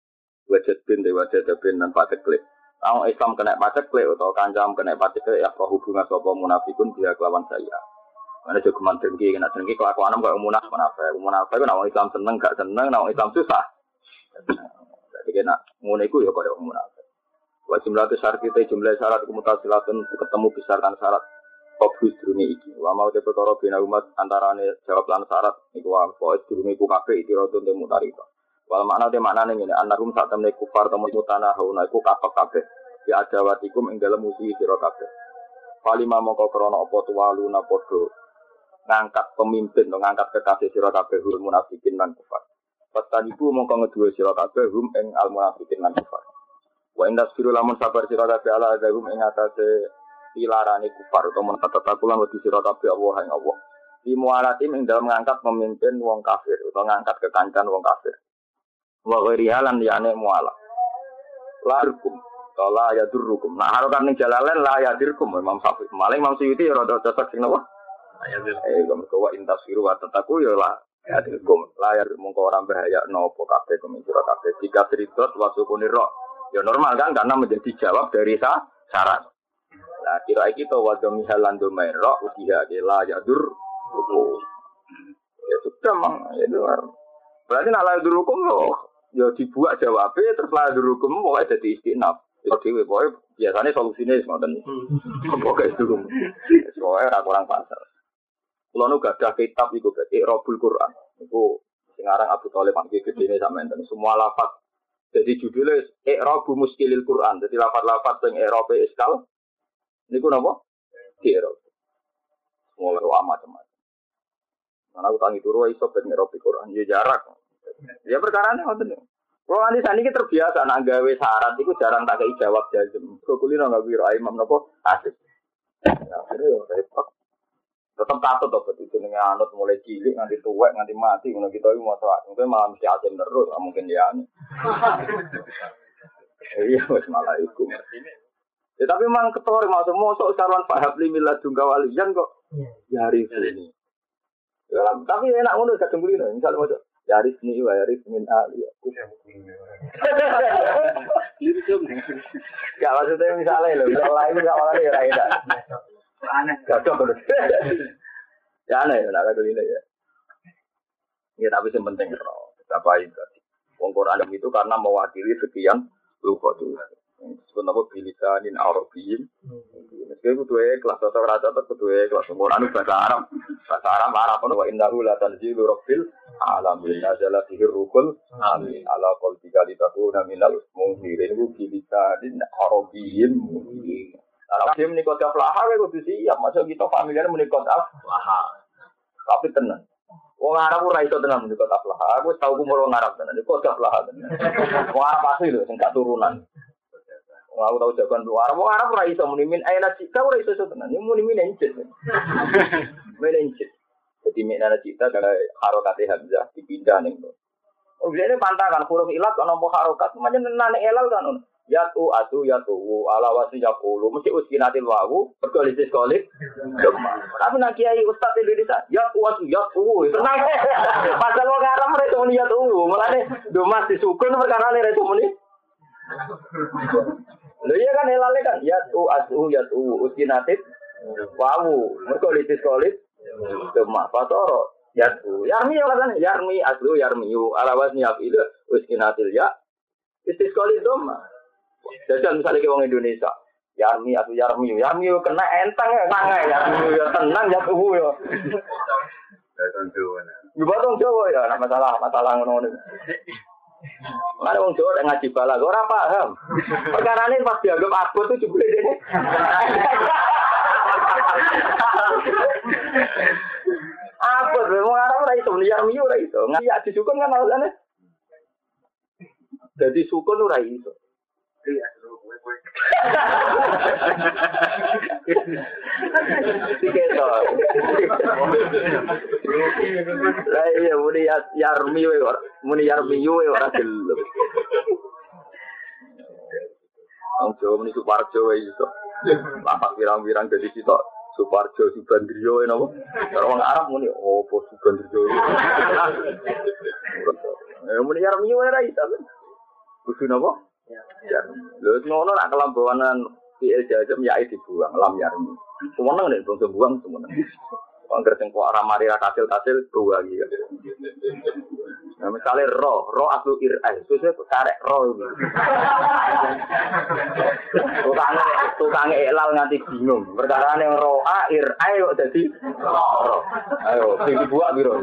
lan patekle. Ang Islam kena patekle utawa kancam kena patekle ya hubungan sapa munafikun dia kelawan saya. Ana jogeman dengki kena dengki kelakuan kok munafik. Munafik ku nek Islam seneng gak seneng, nek Islam susah. Jadi kena ngono iku ya koyo munafik. Wa jumlah syarat kita jumlah syarat mutasilatun ketemu besarkan syarat fokus durunge iki. Wa mau te perkara bina umat antarane jawab lan syarat iku wa fokus durunge iku kabeh itirotun te mutarika. Wal makna te maknane ngene annahum satamne kufar temu tanah hauna iku kabeh ya adawatikum ing dalem musuh sira kabeh. Palima mongko krana apa tuwaluna padha ngangkat pemimpin to ngangkat kekasih sira kabeh hul munafikin lan kufar. Pastaniku mongko ngeduwe sira kabeh hum ing al munafikin lan kufar. Wa indas firu lamun sabar sira kabeh ala azabum ing atase pilarane kufar utawa mentatatakulan wedi sira kabeh Allah ing Allah. Di mualatim ing dalem ngangkat pemimpin wong kafir utawa ngangkat kekancan wong kafir. Wa ghirialan liyane muala. Larkum la yadurrukum. Nah harokan ning jalalen la yadirkum Imam Syafi'i. Maling Imam Suyuti ya rada cocok sing napa? Ayadir. Kok wa intasiru wa tataku ya la yadirkum. La yar mongko ora bahaya napa kabeh kumisira kabeh. Jika tridot wa sukuni ra. Ya normal kan karena menjadi jawab dari syarat. Nah kira iki to wa domihalan domaira udiha la yadur. Ya sudah mang ya luar. Berarti nak la yadurukum loh. Ya dibuat jawabnya terus la yadurukum pokoknya jadi istinaf. Itu pokoknya biasanya solusinya ngoten. Pokoknya itu. Soalnya orang pasar. Kalau nu gak ada kitab itu berarti Robul Quran. Itu sekarang Abu Thalib panggil gedene sampe enten semua lafaz. Jadi judulnya I'rabu Muskilil Quran. Jadi lafaz-lafaz sing i'rabe iskal niku napa? I'rab. Mulai macam-macam. Mana aku tangi turu iso ben i'rabe Quran ya jarak. Ya perkarane ngoten. Kalau nanti saat ini terbiasa nak gawe syarat itu jarang tak kei jawab jazm. Kau kulino nggak biro imam nopo asik. Ya, itu repot. Tetap katut toh betul jenenge anut mulai cilik nganti tuwek nganti mati ngono kita iki moto mungkin malah mesti asim terus mungkin ya. Iya wis malah iku. Ya tapi memang ketor mosok sarwan Pak Habli miladun kawalian kok yari ini. Ya, tapi enak ngono kadang kulino misal mojo yaris ni wa yaris min ali. Gak maksudnya misalnya loh, kalau lain gak malah ya rakyat. Aneh. Gak terus. Ya aneh, nak kata ini ya. Ya tapi yang penting roh. Apa itu? Wong Quran itu karena mewakili sekian lupa tuh. Sebenarnya bilisanin Arabiyyin. Meski kedua kelas atau rasa atau kedua kelas Quran bahasa Arab. Bahasa Arab wa innahu la tanzilu rabbil alamin. Nazala fihi ruhul amin. Ala qalbika litakuna minal munzirin bilisanin Arabiyyin. Kalau dia menikah aflaha, kita kudu siap. Masa kita familiar menikah aflaha. Tapi tenang. Wong Arab ora iso tenan menikah aflaha. Aku tahu kumur wong Arab tenan. Menikah aflaha tenan. Wong Arab asli lho, sing gak turunan. Aku tahu jagoan luar. Wong Arab ora iso munimin aina cita ora iso tenan. Ini munimin encet. Menencet. Jadi mikna cita kalau harokat hamzah dipindah ning. Oh, biasanya pantangan huruf ilat ana apa harokat, macam nane elal kan. Yatu atu yatu ala wasi yakulu mesti uskinatil wawu berkoalisi kolik. Tapi nak kiai ustaz Indonesia yatu atu yatu tenang. Pasal wong Arab mereka muni yatu, mulane do mas disukun perkara ne reso muni. Lho iya kan helale kan yatu uskinatit wawu. Mergo litis kolit cuma fatoro yatu. Yarmi kan yarmi aslu yarmiu alawas niap itu uskinatil ya. Litis kolit doma. Jadi misalnya ke wong Indonesia Yarmi atau Yarmiu kena enteng ya, sangai Yarmiu ya tenang ya tuh ya. Batong Jawa ya, nak masalah ngono. Mana wong Jawa ngaji bala, ora paham. Perkara ini pas dianggap abot itu jebule dene. Abot, wong Arab ora iso, Yarmiu ora iso. Ngaji disukun kan alasane. Jadi sukun ora iso. Iya, muni Yarmi ora gelem. Wong Jawa muni Suparjo wae iso. Lapak pirang-pirang dadi sitok Suparjo Subandrio napa? Karo wong Arab muni opo Subandrio. Muni Yarmi ora iso. Kudu napa? Ya, lho ngono nak kelambanan fi'il jazm ya dibuang lam yarmi. Semeneng nek bangsa buang semeneng. Angger sing kok ora mari ra kasil-kasil buang iki. Nah, misale ro aslu ir'al, sesuk karek ro. Tukange ilal nganti bingung. Perkarane ro'a ir'ai kok dadi ro. Ayo, sing dibuak piro?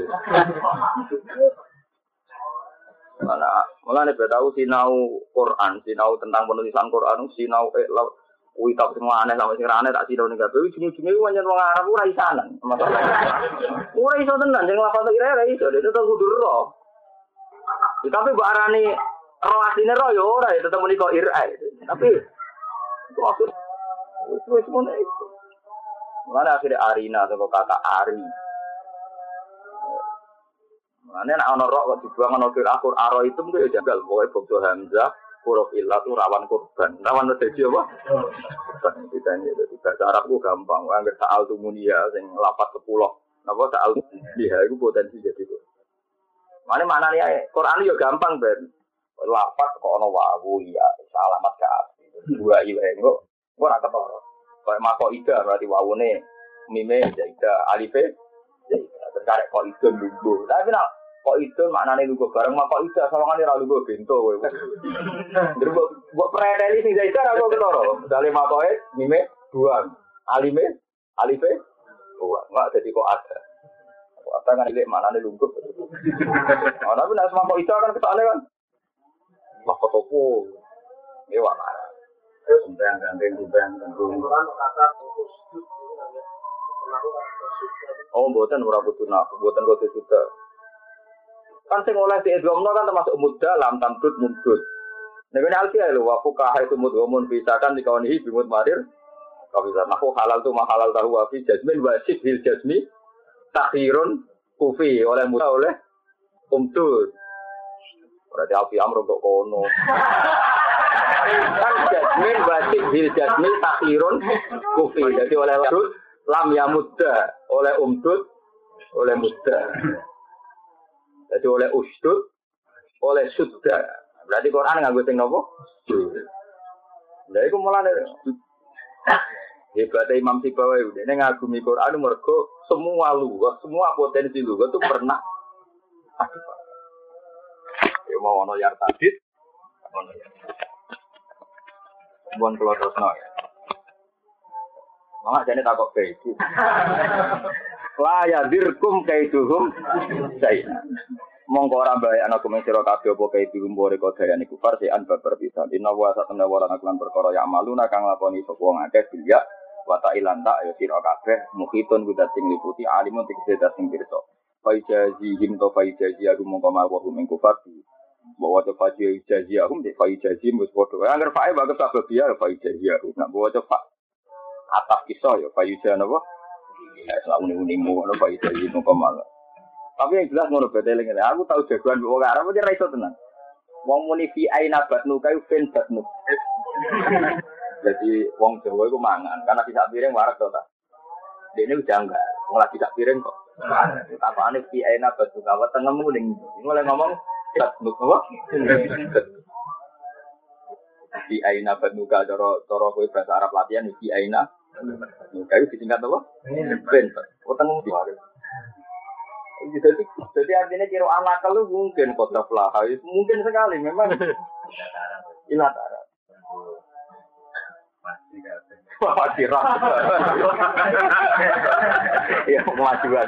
Malah nek tahu sinau Quran, sinau tentang penulisan Quran, sinau kuwi tak sing aneh sampe sing aneh tak sinau ning kabeh ujung-ujunge pancen wong Arab ora isanan. Ora iso tenan sing lafal kira ora iso, tetep kudu ro. Tapi mbok arani ro asline ro ya ora, tetep muni kok ir'ai. Tapi itu maksud wis ngono iku. Malah akhire Arina atau kata Ari. Ane nek ana rok kok dibuang ana Al-Qur'an aro itu mung jagal pokoke bangsa hamzah huruf illah itu rawan korban. Rawan dadi apa? Korban ditanya dadi bahasa Arab ku gampang. Angger sa'al tumunia sing lapat 10. Napa sa'al dia iku potensi jadi kok. Manane Qur'an yo gampang ben. Lapat kok ana wawu ya alamat ka asli. Dua iwe kok ora ketara. Kayak mako ida berarti wawune mime jaida alife jaida terkarek kok itu lungguh. Tapi nak kok itu maknane lungguh bareng mak kok ida sawangane ra lungguh bento kowe. Terus mbok preteli sing jaida ra kok ketara. Misale makoe mime buang, alime alife buang. Enggak jadi kok ada. Kok ada kan ilek maknane lungguh. Nah, tapi nek mak kok ida kan kesane kan. Mak toko. Ewa marah. Sampeyan gandeng kata oh, mboten ora kudu nak, mboten kudu sudah. Kan sing oleh diidghamno kan termasuk mudah lam tamdud mundud. Nek ana alfiah lho wa fuqaha itu mudghamun bisakan dikaunihi bimut marir. Kalau bisa aku halal tu mahalal tahu wa fi jazmin wasib bil jazmi takhirun kufi oleh mudah oleh umdud. Berarti alfi amr untuk kono. Kan jazmin wasib bil jazmi takhirun kufi. Jadi oleh lam ya muda oleh umdud oleh muda jadi oleh usdud oleh sudda berarti Quran nganggo sing napa lha iku mulane hebat Imam Sibawi dene ngagumi Quran mergo semua lugas semua potensi lugas itu pernah ya mau ono yar tadid ono ya bon kula terusno ya Mama jane takok kaitu. La ya dirkum kaituhum sayna. Monggo ora bae ana kumen sira kabeh apa kaitu mbore kodayane kufar sean babar pisan. Inna wa satana wa lan perkara ya maluna kang lakoni sapa wong akeh bilya wa ta'ilan ta ya sira kabeh mukhitun kudat sing liputi alimun tegese sing pirsa. Faijazi him to faijazi aku mongko mawa ing kufar di bahwa to faijazi aku de faijazi mus padha. Angger fae bagus sabab ya faijazi aku. Nak bawa coba atas kisah ya fayuja napa ya selalu ning-ning ngono fayuja iki kemal tapi yang jelas ngono beteleng aku tahu jagoan wong Arab aja ra iso tenan wong muni fi aina batnu kayu fen batnu jadi wong Jawa iku mangan karena tidak piring warak to ta dene janggal wong lagi tak piring kok tapane fi aina batnu kawa tengemu ning mulai ngomong batnu apa Fi aina banuka cara kowe bahasa Arab latihan fi aina. Nuka itu disingkat apa? Ben. Utang di mari. Jadi artinya kira anak lu mungkin kota flaha mungkin sekali memang ilatara. Pasti rasa. Ya kemajuan.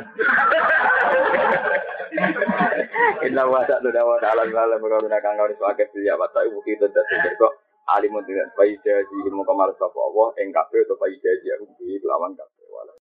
Inna wa ta'ala ta'ala berkata kang kau sebagai dia apa tahu kita tidak kok alimun dengan bayi jadi ilmu kamar sapa Allah ing kabeh atau bayi jadi aku di lawan